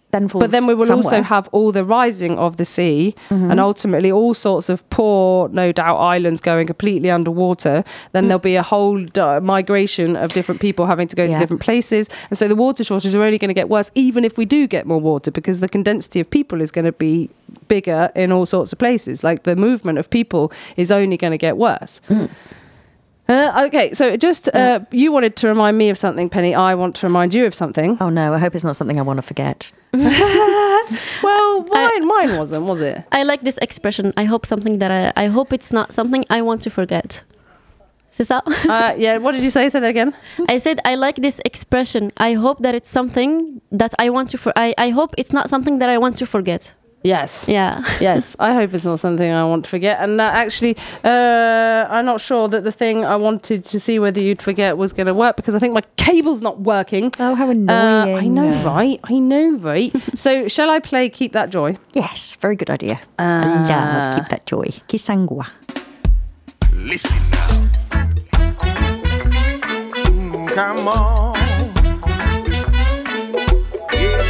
then falls But then we will somewhere. also have all the rising of the sea Mm-hmm. and ultimately all sorts of poor, no doubt, islands going completely underwater. Then there'll be a whole uh, migration of different people having to go Yeah. to different places. And so the water shortages are only going to get worse, even if we do get more water, because the condensity of people is going to be bigger in all sorts of places. Like the movement of people is only going to get worse. Mm. Uh, okay, so just uh, you wanted to remind me of something, Penny. I want to remind you of something. Oh no, I hope it's not something I want to forget. Well, mine, mine wasn't, was it? I like this expression. I hope something that I, I hope it's not something I want to forget. C'est ça? Uh, yeah, what did you say? Say that again. I said I like this expression. I hope that it's something that I want to for I, I hope it's not something that I want to forget. Yes. Yeah. Yes, I hope it's not something I want to forget. And uh, actually, uh, I'm not sure that the thing I wanted to see whether you'd forget was going to work, because I think my cable's not working. Oh, how Uh, annoying. I know, right? I know, right? So, shall I play Keep That Joy? Yes, very good idea. I Uh, love Keep That Joy. Kisangwa. Listen now. Mm, come on. Yeah.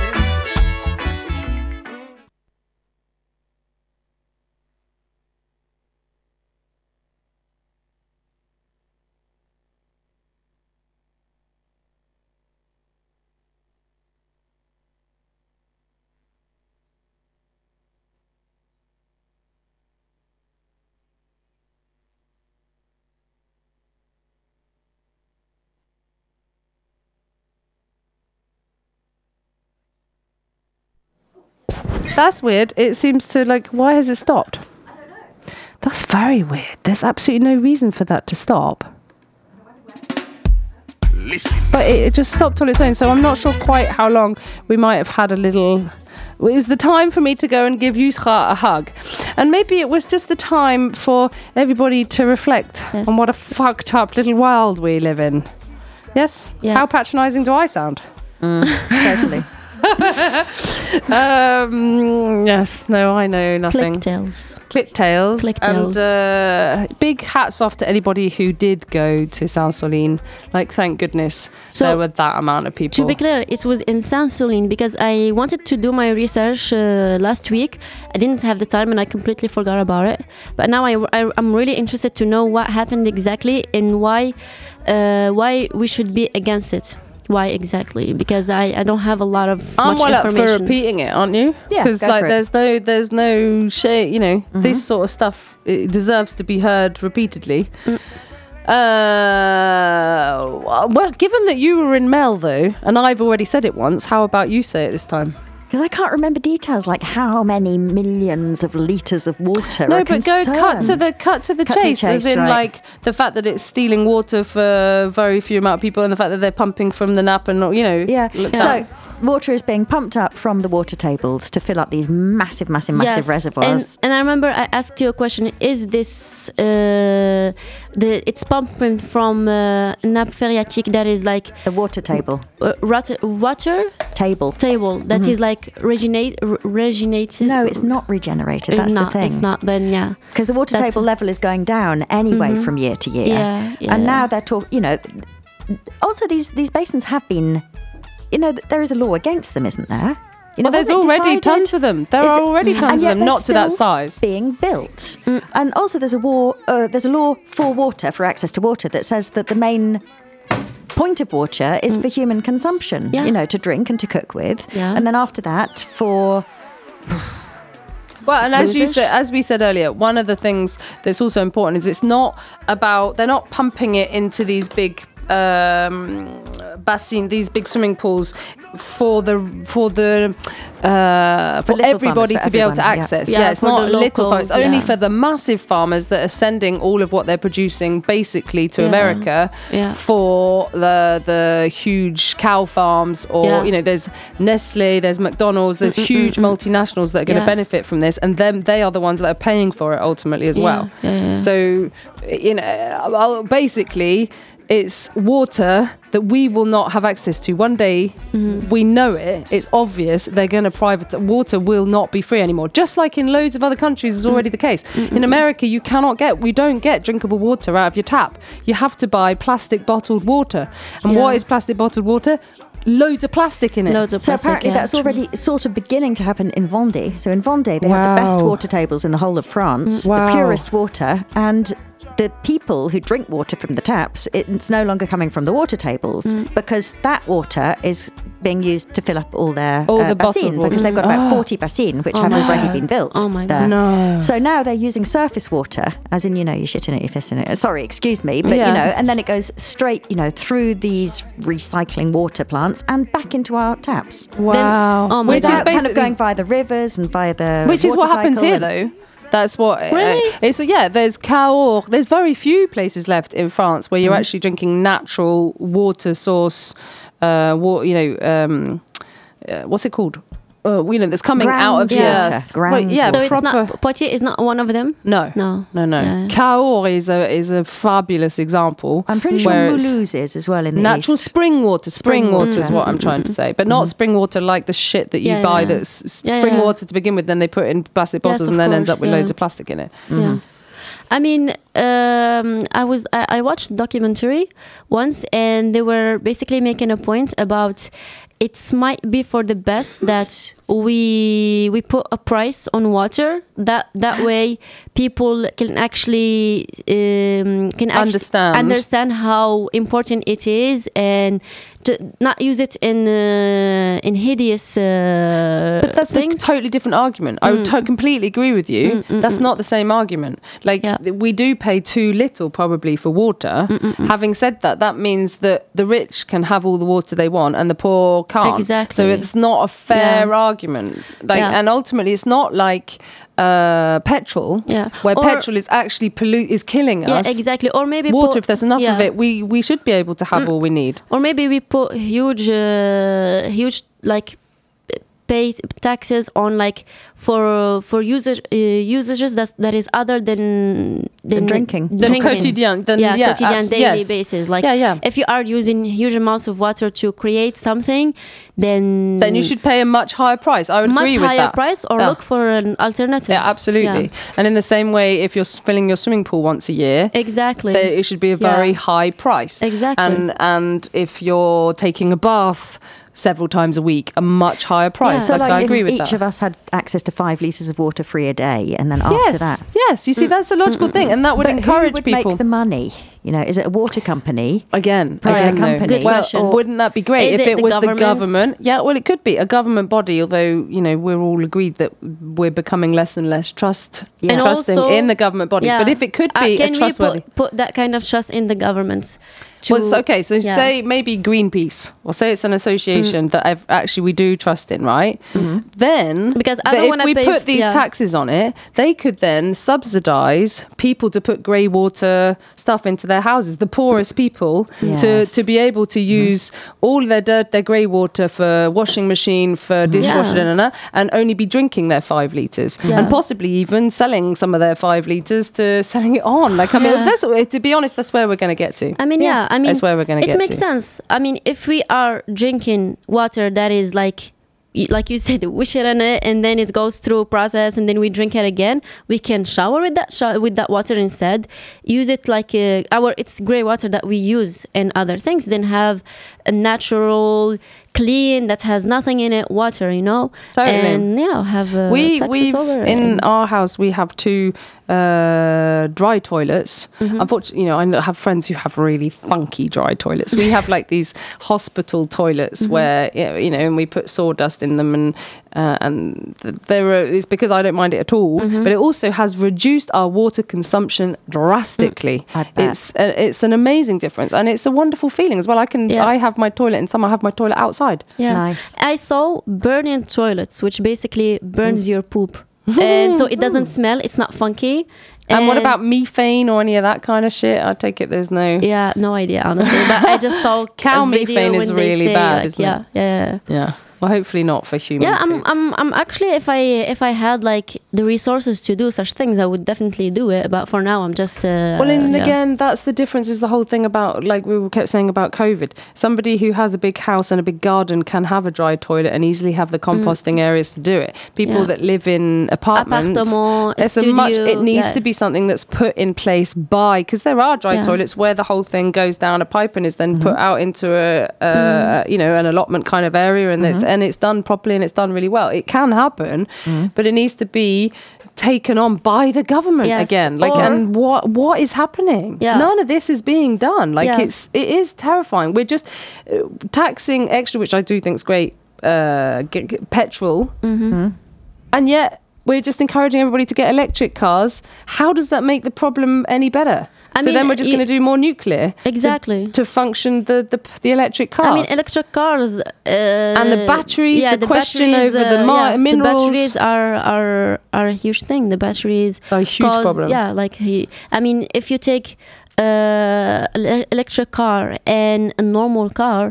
That's weird. It seems to, like, why has it stopped? I don't know. That's very weird. There's absolutely no reason for that to stop. Listen. But it, it just stopped on its own. So I'm not sure quite how long. We might have had a little... It was the time for me to go and give Yusra a hug. And maybe it was just the time for everybody to reflect Yes. on what a fucked up little world we live in. Yes? Yeah. How patronising do I sound? Totally. Um, yes, no, I know nothing. Click tails. Clip tails. Click And tails. uh, big hats off to anybody who did go to Saint-Soline. Like, thank goodness So, there were that amount of people. To be clear, it was in Saint-Soline because I wanted to do my research uh, last week. I didn't have the time and I completely forgot about it. But now I, I, I'm really interested to know what happened exactly and why, uh, why we should be against it. Why exactly? Because I, I don't have a lot of I'm much well up for information. repeating it, aren't you? Yeah, because go like for it. there's no there's no shade. You know, this sort of stuff, it deserves to be heard repeatedly. Mm. Uh, well, given that you were in Mel though, and I've already said it once, how about you say it this time? Because I can't remember details like how many millions of litres of water No, are but go cut to concerned. the cut to the Cut to the chase, as chase, in right. like the fact that it's stealing water for very few amount of people, and the fact that they're pumping from the Nap, and you know, Yeah. look Yeah. that- So water is being pumped up from the water tables to fill up these massive, massive, massive Yes, reservoirs. And, and I remember I asked you a question. Is this uh, the it's pumping from uh, nappe phréatique that is like the water table. uh, water water Table. table that is like regenerate r- regenerated? No, it's not regenerated. It's That's not. the thing. It's not. Then yeah. Because the water That's- table level is going down anyway from year to year. Yeah, yeah. And now they're talking, you know, also these, these basins have been, you know, there is a law against them, isn't there? You know, Well, there's wasn't it already decided- tons of them. There Is are it- already and tons of yet them, they're not to that still size. being built. And also there's a war, uh, there's a law for water, for access to water, that says that the main point of water is for human consumption, Yeah. you know, to drink and to cook with. Yeah. And then after that, for Well, and as you Losers. said, as we said earlier, one of the things that's also important is it's not about they're not pumping it into these big um, bassins, these big swimming pools for the for the uh, for, little everybody farmers, to for be able to everyone, yeah. access. Yeah, Yeah, it's for not the little farmers. locals, Only yeah. for the massive farmers that are sending all of what they're producing basically to Yeah. America Yeah. for the the huge cow farms, or Yeah. you know, there's Nestle, there's McDonald's, there's huge multinationals that are going to Yes. benefit from this, and them they are the ones that are paying for it ultimately as Yeah, well. yeah, yeah. So, you know, well, basically, it's water that we will not have access to. One day, Mm-hmm. we know it. It's obvious they're going to private. Water will not be free anymore. Just like in loads of other countries is already the case. In America, you cannot get, we don't get drinkable water out of your tap. You have to buy plastic bottled water. And Yeah. what is plastic bottled water? loads of plastic in it. Loads of So plastic, apparently yeah, that's true. already sort of beginning to happen in Vendée. So in Vendée, they have the best Wow. water tables in the whole of France, Wow. the purest water, and the people who drink water from the taps, it's no longer coming from the water tables Mm. because that water is being used to fill up all their All uh, the bottled bassines, water. because they've got about forty bassines which Oh have my already God. been built. Oh my there. God. No. So now they're using surface water, as in, you know, you're shitting it, you're pissing it. Sorry, excuse me, but Yeah. you know, and then it goes straight, you know, through these recycling water plants and back into our taps. Wow. oh my Which God. is Without kind basically of going via the rivers and via the Which is water what happens cycle here, and- though. That's what. Really? Uh, it's yeah. There's Cahors. There's very few places left in France where you're Mm. actually drinking natural water source. Uh, wa- you know, um, uh, what's it called? Uh, you know, that's coming out of the Groundwater. earth. Groundwater. yeah, So it's proper. not Poitiers is not one of them. no, No. no, no. Yeah. Cahors is a is a fabulous example. I'm pretty sure where it's Mulhouse is as well in the Natural east. spring water. Spring, Spring water is water. what I'm trying to say, but not spring water like the shit that you Yeah, buy. yeah. That's s- Yeah, spring yeah. water to begin with. Then they put it in plastic Yes, bottles of and then ends course, up with yeah. loads of plastic in it. Yeah. I mean, um, I was I, I watched a documentary once, and they were basically making a point about it might be for the best that we we put a price on water. That that way, people can actually um, can actually Understand. understand how important it is, and to not use it in uh, in hideous. Uh, But that's things. a totally different argument. I would to- completely agree with you. that's not the same argument. Like, Yeah. th- we do pay too little probably for water. Having said that, that means that the rich can have all the water they want and the poor can't. Exactly. So it's not a fair Yeah. argument. Like, Yeah. and ultimately, it's not like uh, petrol, Yeah. where Or- petrol is actually pollute is killing Yeah, us. exactly. Or maybe Water, put- if there's enough of yeah. it, we we should be able to have all we need. Or maybe we put huge, uh, huge like pay taxes on like for for user uh, usages that that is other than than drinking. Than quotidien, than- yeah, yeah, quotidien abs- daily yes. basis. Like Yeah, yeah. if you are using huge amounts of water to create something, then Then you should pay a much higher price. I would much agree with higher that. price or Yeah. look for an alternative. Yeah, absolutely. Yeah. And in the same way, if you're s- filling your swimming pool once a year, Exactly. there, it should be a Yeah. very high price. Exactly. And and if you're taking a bath several times a week, a much higher price. Yeah. So Like, like, I agree if with each that. of us had access to five litres of water free a day, and then after yes, that... yes. You see, that's a logical thing, and that would But encourage who would people. make the money? You know, is it a water company? Again, Private again, though. company. Good Well, question. wouldn't that be great Is if it it, the was the government? government? Yeah, well, it could be a government body. Although you know, we're all agreed that we're becoming less and less trust Yeah. And trusting also- in the government bodies. Yeah. But if it could Uh, be a can trustworthy, we put, put that kind of trust in the governments? To, well, it's okay. So yeah. say maybe Greenpeace, or say it's an association that I've, actually we do trust in, right? Then Because I that don't if wanna we pay put f- these yeah. taxes on it, they could then subsidise people to put grey water stuff into their houses, the poorest people, to Yes. to be able to use all their dirt, their grey water for washing machine, for dishwasher, Yeah. and, and, and only be drinking their five litres, Yeah. and possibly even selling some of their five litres to selling it on. Like I mean, Yeah. that's to be honest, that's where we're going to get to. I mean, yeah, I mean, That's where we're gonna it get makes to. sense. I mean, if we are drinking water that is like, y- like you said, we shit in it and then it goes through a process and then we drink it again, we can shower with that sho- with that water instead. Use it like uh, our it's grey water that we use and other things. Then have a natural, clean that has nothing in it water, you know. Totally. And yeah, have uh, we taxes we over it. in our house we have two uh, dry toilets. Mm-hmm. Unfortunately, you know, I know- have friends who have really funky dry toilets. We have like these hospital toilets Mm-hmm. where yeah, you know, and we put sawdust in them, and uh, and th- there are. It's because I don't mind it at all, Mm-hmm. but it also has reduced our water consumption drastically. Mm. I bet. It's uh, it's an amazing difference, and it's a wonderful feeling as well. I can Yeah. I have my toilet in summer. I have my toilet outside. Yeah. Nice. I saw burning toilets, which basically burns your poop. And so it doesn't smell, it's not funky. And, what about methane or any of that kind of shit? I take it there's no. Yeah, no idea, honestly. But I just saw Cow a video methane is when they really say, bad, like, isn't yeah, it? Yeah, yeah. Yeah. Well, hopefully not for human. Yeah, I'm, poo. I'm, I'm actually, if I, if I had like the resources to do such things, I would definitely do it. But for now, I'm just. Uh, Well, and yeah. again, that's the difference. Is the whole thing about, like we kept saying about COVID. Somebody who has a big house and a big garden can have a dry toilet and easily have the composting areas to do it. People Yeah. that live in apartments, Appartement, it's a much. studio, It needs yeah. to be something that's put in place by, because there are dry Yeah. toilets where the whole thing goes down a pipe and is then put out into a, a Mm. you know, an allotment kind of area, and it's and it's done properly and it's done really well. It can happen, but it needs to be taken on by the government Yes, again. Like, or- and what what is happening? Yeah. None of this is being done. Like, Yeah. it's it is terrifying. We're just uh, taxing extra, which I do think is great. Uh, g- g- petrol, Mm-hmm. and yet we're just encouraging everybody to get electric cars. How does that make the problem any better? I so mean, then we're just you- going to do more nuclear to- Exactly. to, function the, the the electric cars. I mean, electric cars uh, And the batteries, yeah, the question batteries, over the uh, mi- yeah, minerals. The batteries are are are a huge thing. The batteries A huge cause- problem. Yeah, like he, I mean, if you take uh, an electric car and a normal car.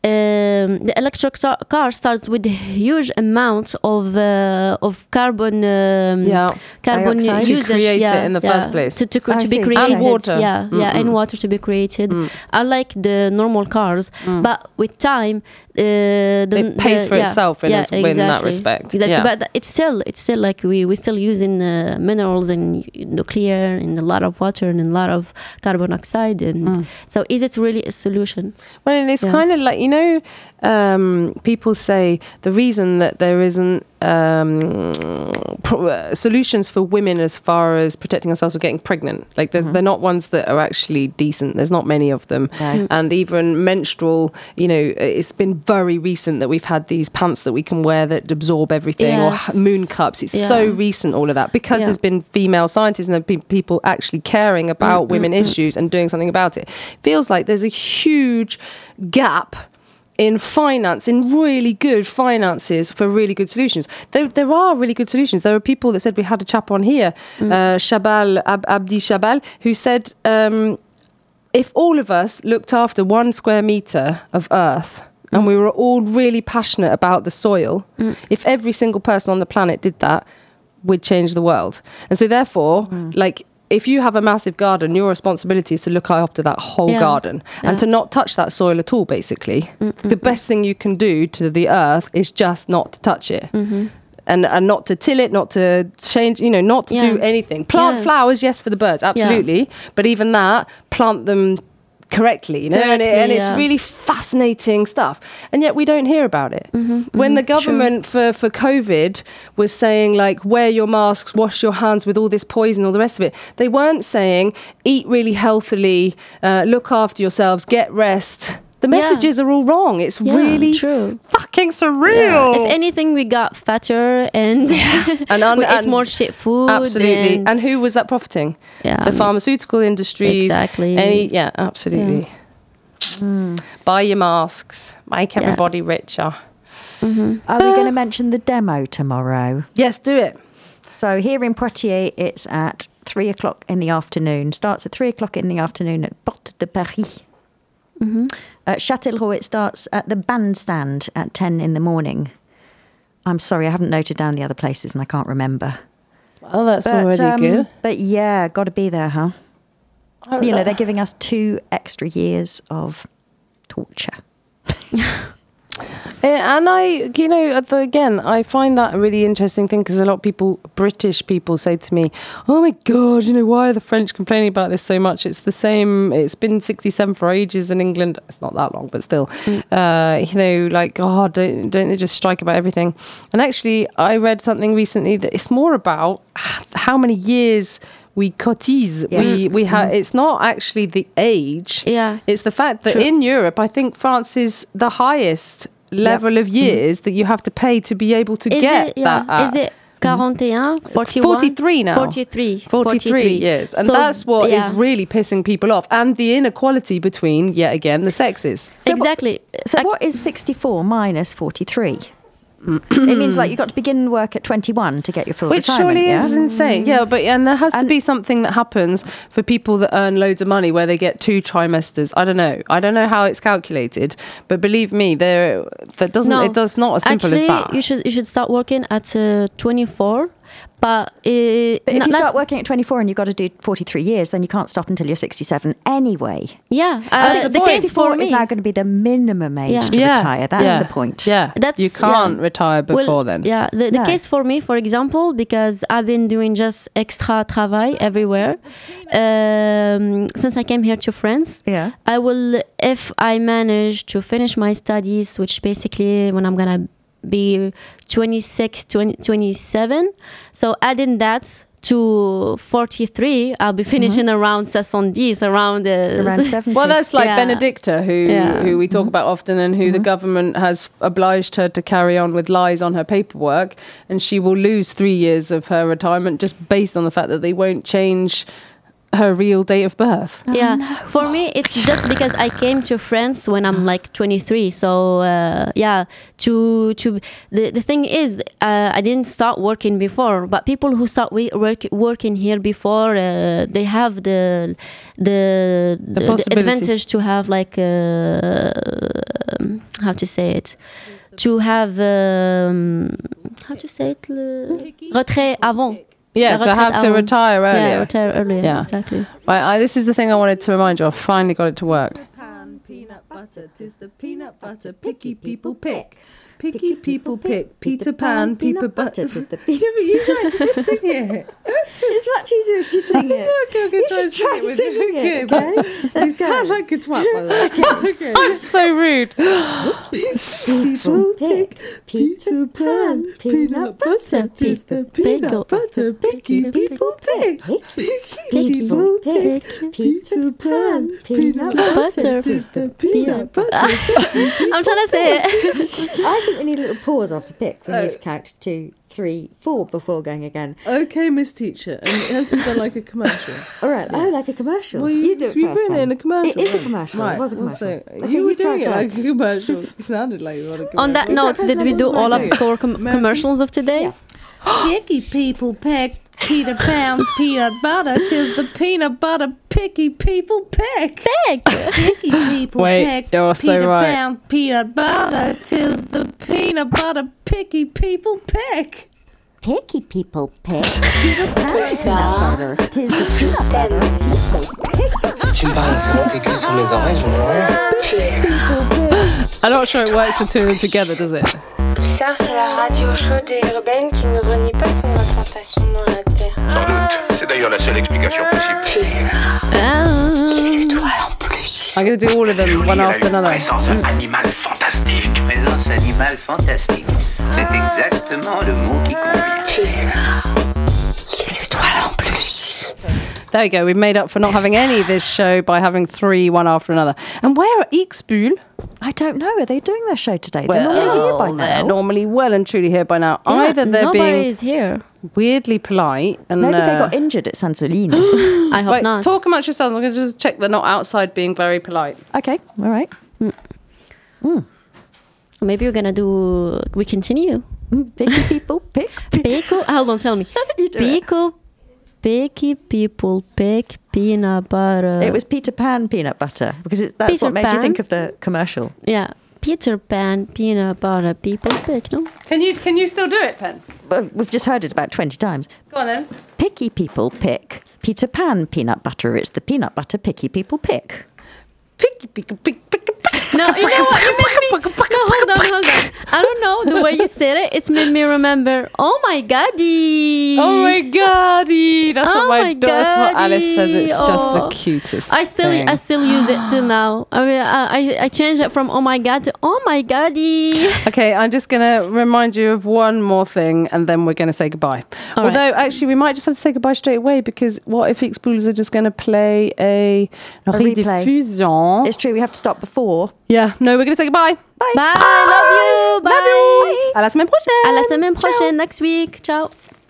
Um, the electric car car starts with huge amounts of uh, of carbon um, Yeah. carbon Dioxide. To usage create it yeah, in the yeah, first place. to, to, I to be see. created And water. yeah yeah and Mm-mm. water to be created Mm. unlike the normal cars but with time uh, the, It pays the- for yeah, itself in yeah, its- in that exactly. respect. Exactly. Yeah. But it's still it's still like we we still using uh, minerals and nuclear and a lot of water and a lot of carbon dioxide and Mm. so is it really a solution? Well, and it's Yeah. kind of like, you know, um, people say the reason that there isn't um, pro- uh, solutions for women as far as protecting ourselves or getting pregnant, like they're, they're not ones that are actually decent. There's not many of them. Right. And even menstrual, you know, it's been very recent that we've had these pants that we can wear that absorb everything or Yes. h- moon cups. It's Yeah. so recent, all of that, because Yeah. there's been female scientists and there have been people actually caring about women issues and doing something about it. Feels like there's a huge gap in finance, in really good finances for really good solutions. There, there are really good solutions. There are people that said, we had a chap on here, uh, Shabal, Ab- Abdi Shabal, who said, um, if all of us looked after one square metre of earth and we were all really passionate about the soil, if every single person on the planet did that, we'd change the world. And so therefore, like, if you have a massive garden, your responsibility is to look after that whole Yeah. garden and Yeah. to not touch that soil at all, basically. The best thing you can do to the earth is just not to touch it. And, and not to till it, not to change, you know, not to do Yeah. anything. Plant Yeah. flowers, yes, for the birds, absolutely. But even that, plant them correctly, you know, and, it, Correctly, and it's yeah. really fascinating stuff. And yet we don't hear about it. When the government for, for COVID was saying, like, wear your masks, wash your hands with all this poison, all the rest of it, they weren't saying, eat really healthily, uh, look after yourselves, get rest. The Yeah. messages are all wrong. It's Yeah, really true. fucking surreal. If anything, we got fatter and And un- we ate and- more shit food. Absolutely. and- And who was that profiting? Yeah, The I mean, pharmaceutical industries. Exactly. Any, yeah, absolutely. Buy your masks. Make Yeah. everybody richer. Are we going to mention the demo tomorrow? Yes, do it. So here in Poitiers, it's at three o'clock in the afternoon. Starts at three o'clock in the afternoon at Porte de Paris. At Châtellerault, it starts at the bandstand at ten in the morning. I'm sorry, I haven't noted down the other places and I can't remember. Well, that's But, already um, good. But yeah, got to be there, huh? You know, they're giving us two extra years of torture. Yeah, and I, you know, at the- again, I find that a really interesting thing because a lot of people, British people, say to me, "Oh my God, you know, why are the French complaining about this so much? It's the same. It's been sixty-seven for ages in England. It's not that long, but still, uh, you know, like, oh, don't don't they just strike about everything?" And actually, I read something recently that it's more about how many years we cotise. Yes. We we have. It's not actually the age. Yeah. It's the fact that True. in Europe, I think France is the highest level of years that you have to pay to be able to Is get it, yeah. that. at. Is it forty-one, forty-one? forty-three now. forty-three. forty-three years. And So, that's what is yeah. really pissing people off. And the inequality between, yet again, the sexes. So what- exactly. So I- what is sixty-four minus forty-three? It means like you got to begin work at twenty-one to get your full Which retirement. surely yeah? is insane. Yeah, but and there has to And- be something that happens for people that earn loads of money where they get two trimesters. I don't know. I don't know how it's calculated, but believe me, there that doesn't. No. It does not as simple Actually, as that. you should you should start working at uh, twenty-four. But, uh, But if n- you that's- start working at twenty-four and you've got to do forty-three years, then you can't stop until you're sixty-seven anyway. yeah, That's uh, the the point. case for sixty-four me. is now going to be the minimum age Yeah. to yeah, retire. That's yeah, the point. Yeah, That's- you can't yeah. retire before Well, then. Yeah, the, the No. case for me, for example, because I've been doing just extra travail everywhere um, since I came here to France. Yeah. I will, if I manage to finish my studies, which basically when I'm gonna be twenty-six, twenty, twenty-seven, so adding that to forty-three, I'll be finishing around seventy, around uh, Around seventy. Well, that's like Yeah. Benedicta, who Yeah. who we talk about often, and who the government has obliged her to carry on with lies on her paperwork, and she will lose three years of her retirement just based on the fact that they won't change her real date of birth. Yeah, for me it's just because I came to France when I'm like twenty-three. So uh, yeah, to to the the thing is, uh, I didn't start working before, but people who start we- work, working here before, uh, they have the the the, the possibility. advantage to have like uh, how to say it, to have um, how to say it, le retrait avant. Yeah, La to have retraite to avant. retire earlier. Yeah, retire earlier. Yeah. Exactly. Right, I, this is the thing I wanted to remind you. I finally got it to work. Pan, peanut butter, 'tis the peanut butter picky people pick. Picky people pick. Peter Pan, peanut butter. Tis the Yeah, but you try to sing it. It's much easier if you sing it. Okay, I'm going You to try and should try sing it with singing you. it, Okay, okay? but you sound like a twat, by the way. Okay. I'm so rude. People pick Peter Pan, peanut butter. Tis the peanut butter picky people pick. People pick Peter Pan, peanut butter. Tis the peanut butter. I'm trying to say it. I think we need a little pause after pick. We need to count two, three, four before going again. Okay, Miss Teacher, and it has to be done like a commercial. All right. Oh, like a commercial. Well, you do it you first. put it then. in a commercial. It is a then. commercial. Right. It was a commercial. Also, Okay, you were try doing it like first. a commercial. You sounded like you were on a commercial. On that note, first? did we This do is all my of take. the core com- commercials of today? Yeah. Picky people pick Peter Pan peanut butter. 'Tis the peanut butter picky people pick. Pick. Picky people Wait, pick you're so Peter right. Pan peanut butter. 'Tis the peanut butter picky people pick. Picky people pick Peter Pan peanut butter. Tis the peanut butter people pick. Si tu me parles, ça monte aiguë sur mes oreilles, j'entends rien. I'm not sure it works the two of them together, does it? Pulsar, c'est la radio chaude et urbaine qui ne renie pas son implantation dans la Terre. Sans doute. C'est d'ailleurs la seule explication possible. Pulsar, Ah. les étoiles en plus. I'm going to do all of them one after another. Présence un animal fantastique. Présence animal fantastique. C'est exactement le mot qui convient. Pulsar, les étoiles en plus. There we go. We've made up for not having any of this show by having three one after another. And where are Ixpool? I don't know. Are they doing their show today? They're normally here by they're now. normally well and truly here by now. Yeah, Either they're being nobody's here. weirdly polite and Maybe they uh, got injured at Sansolino. I hope Wait, not. talk amongst yourselves. I'm going to just check they're not outside being very polite. Okay, all right. So maybe we're gonna do. We continue. Mm, Picky people pick. Pickle. Hold on, tell me. You do it. Pickle. Picky people pick peanut butter. It was Peter Pan peanut butter because it's, that's Peter what made you Pan? think of the commercial. Yeah. Peter Pan peanut butter people pick. No. Can you can you still do it, Pen? Well, we've just heard it about twenty times. Go on then. Picky people pick Peter Pan peanut butter. It's the peanut butter picky people pick. Picky, picky, picky, picky, picky. No, you know what? You made me. No, hold on, hold on. I don't know the way you said it. It's made me remember. Oh my goddy. Oh my goddy! That's Oh what my, my that's what Alice says. It's just the Oh. cutest. I still, thing. I still use it till now. I mean, I, I, I changed it from oh my god to oh my goddy. Okay, I'm just going to remind you of one more thing and then we're going to say goodbye. All right. Although, actually, we might just have to say goodbye straight away because what if Expoolers are just going to play a, a, A replay. rediffusion? It's true, we have to stop before. Yeah, no, we're going to say goodbye. Bye. Bye, love you. Bye. Love you. À la semaine prochaine. À la semaine prochaine, next week. Ciao.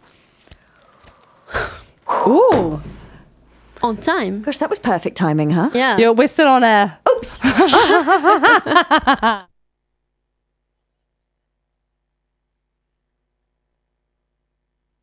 Ooh. On time. Gosh, that was perfect timing, huh? Yeah. Yeah, we're still on air. Oops.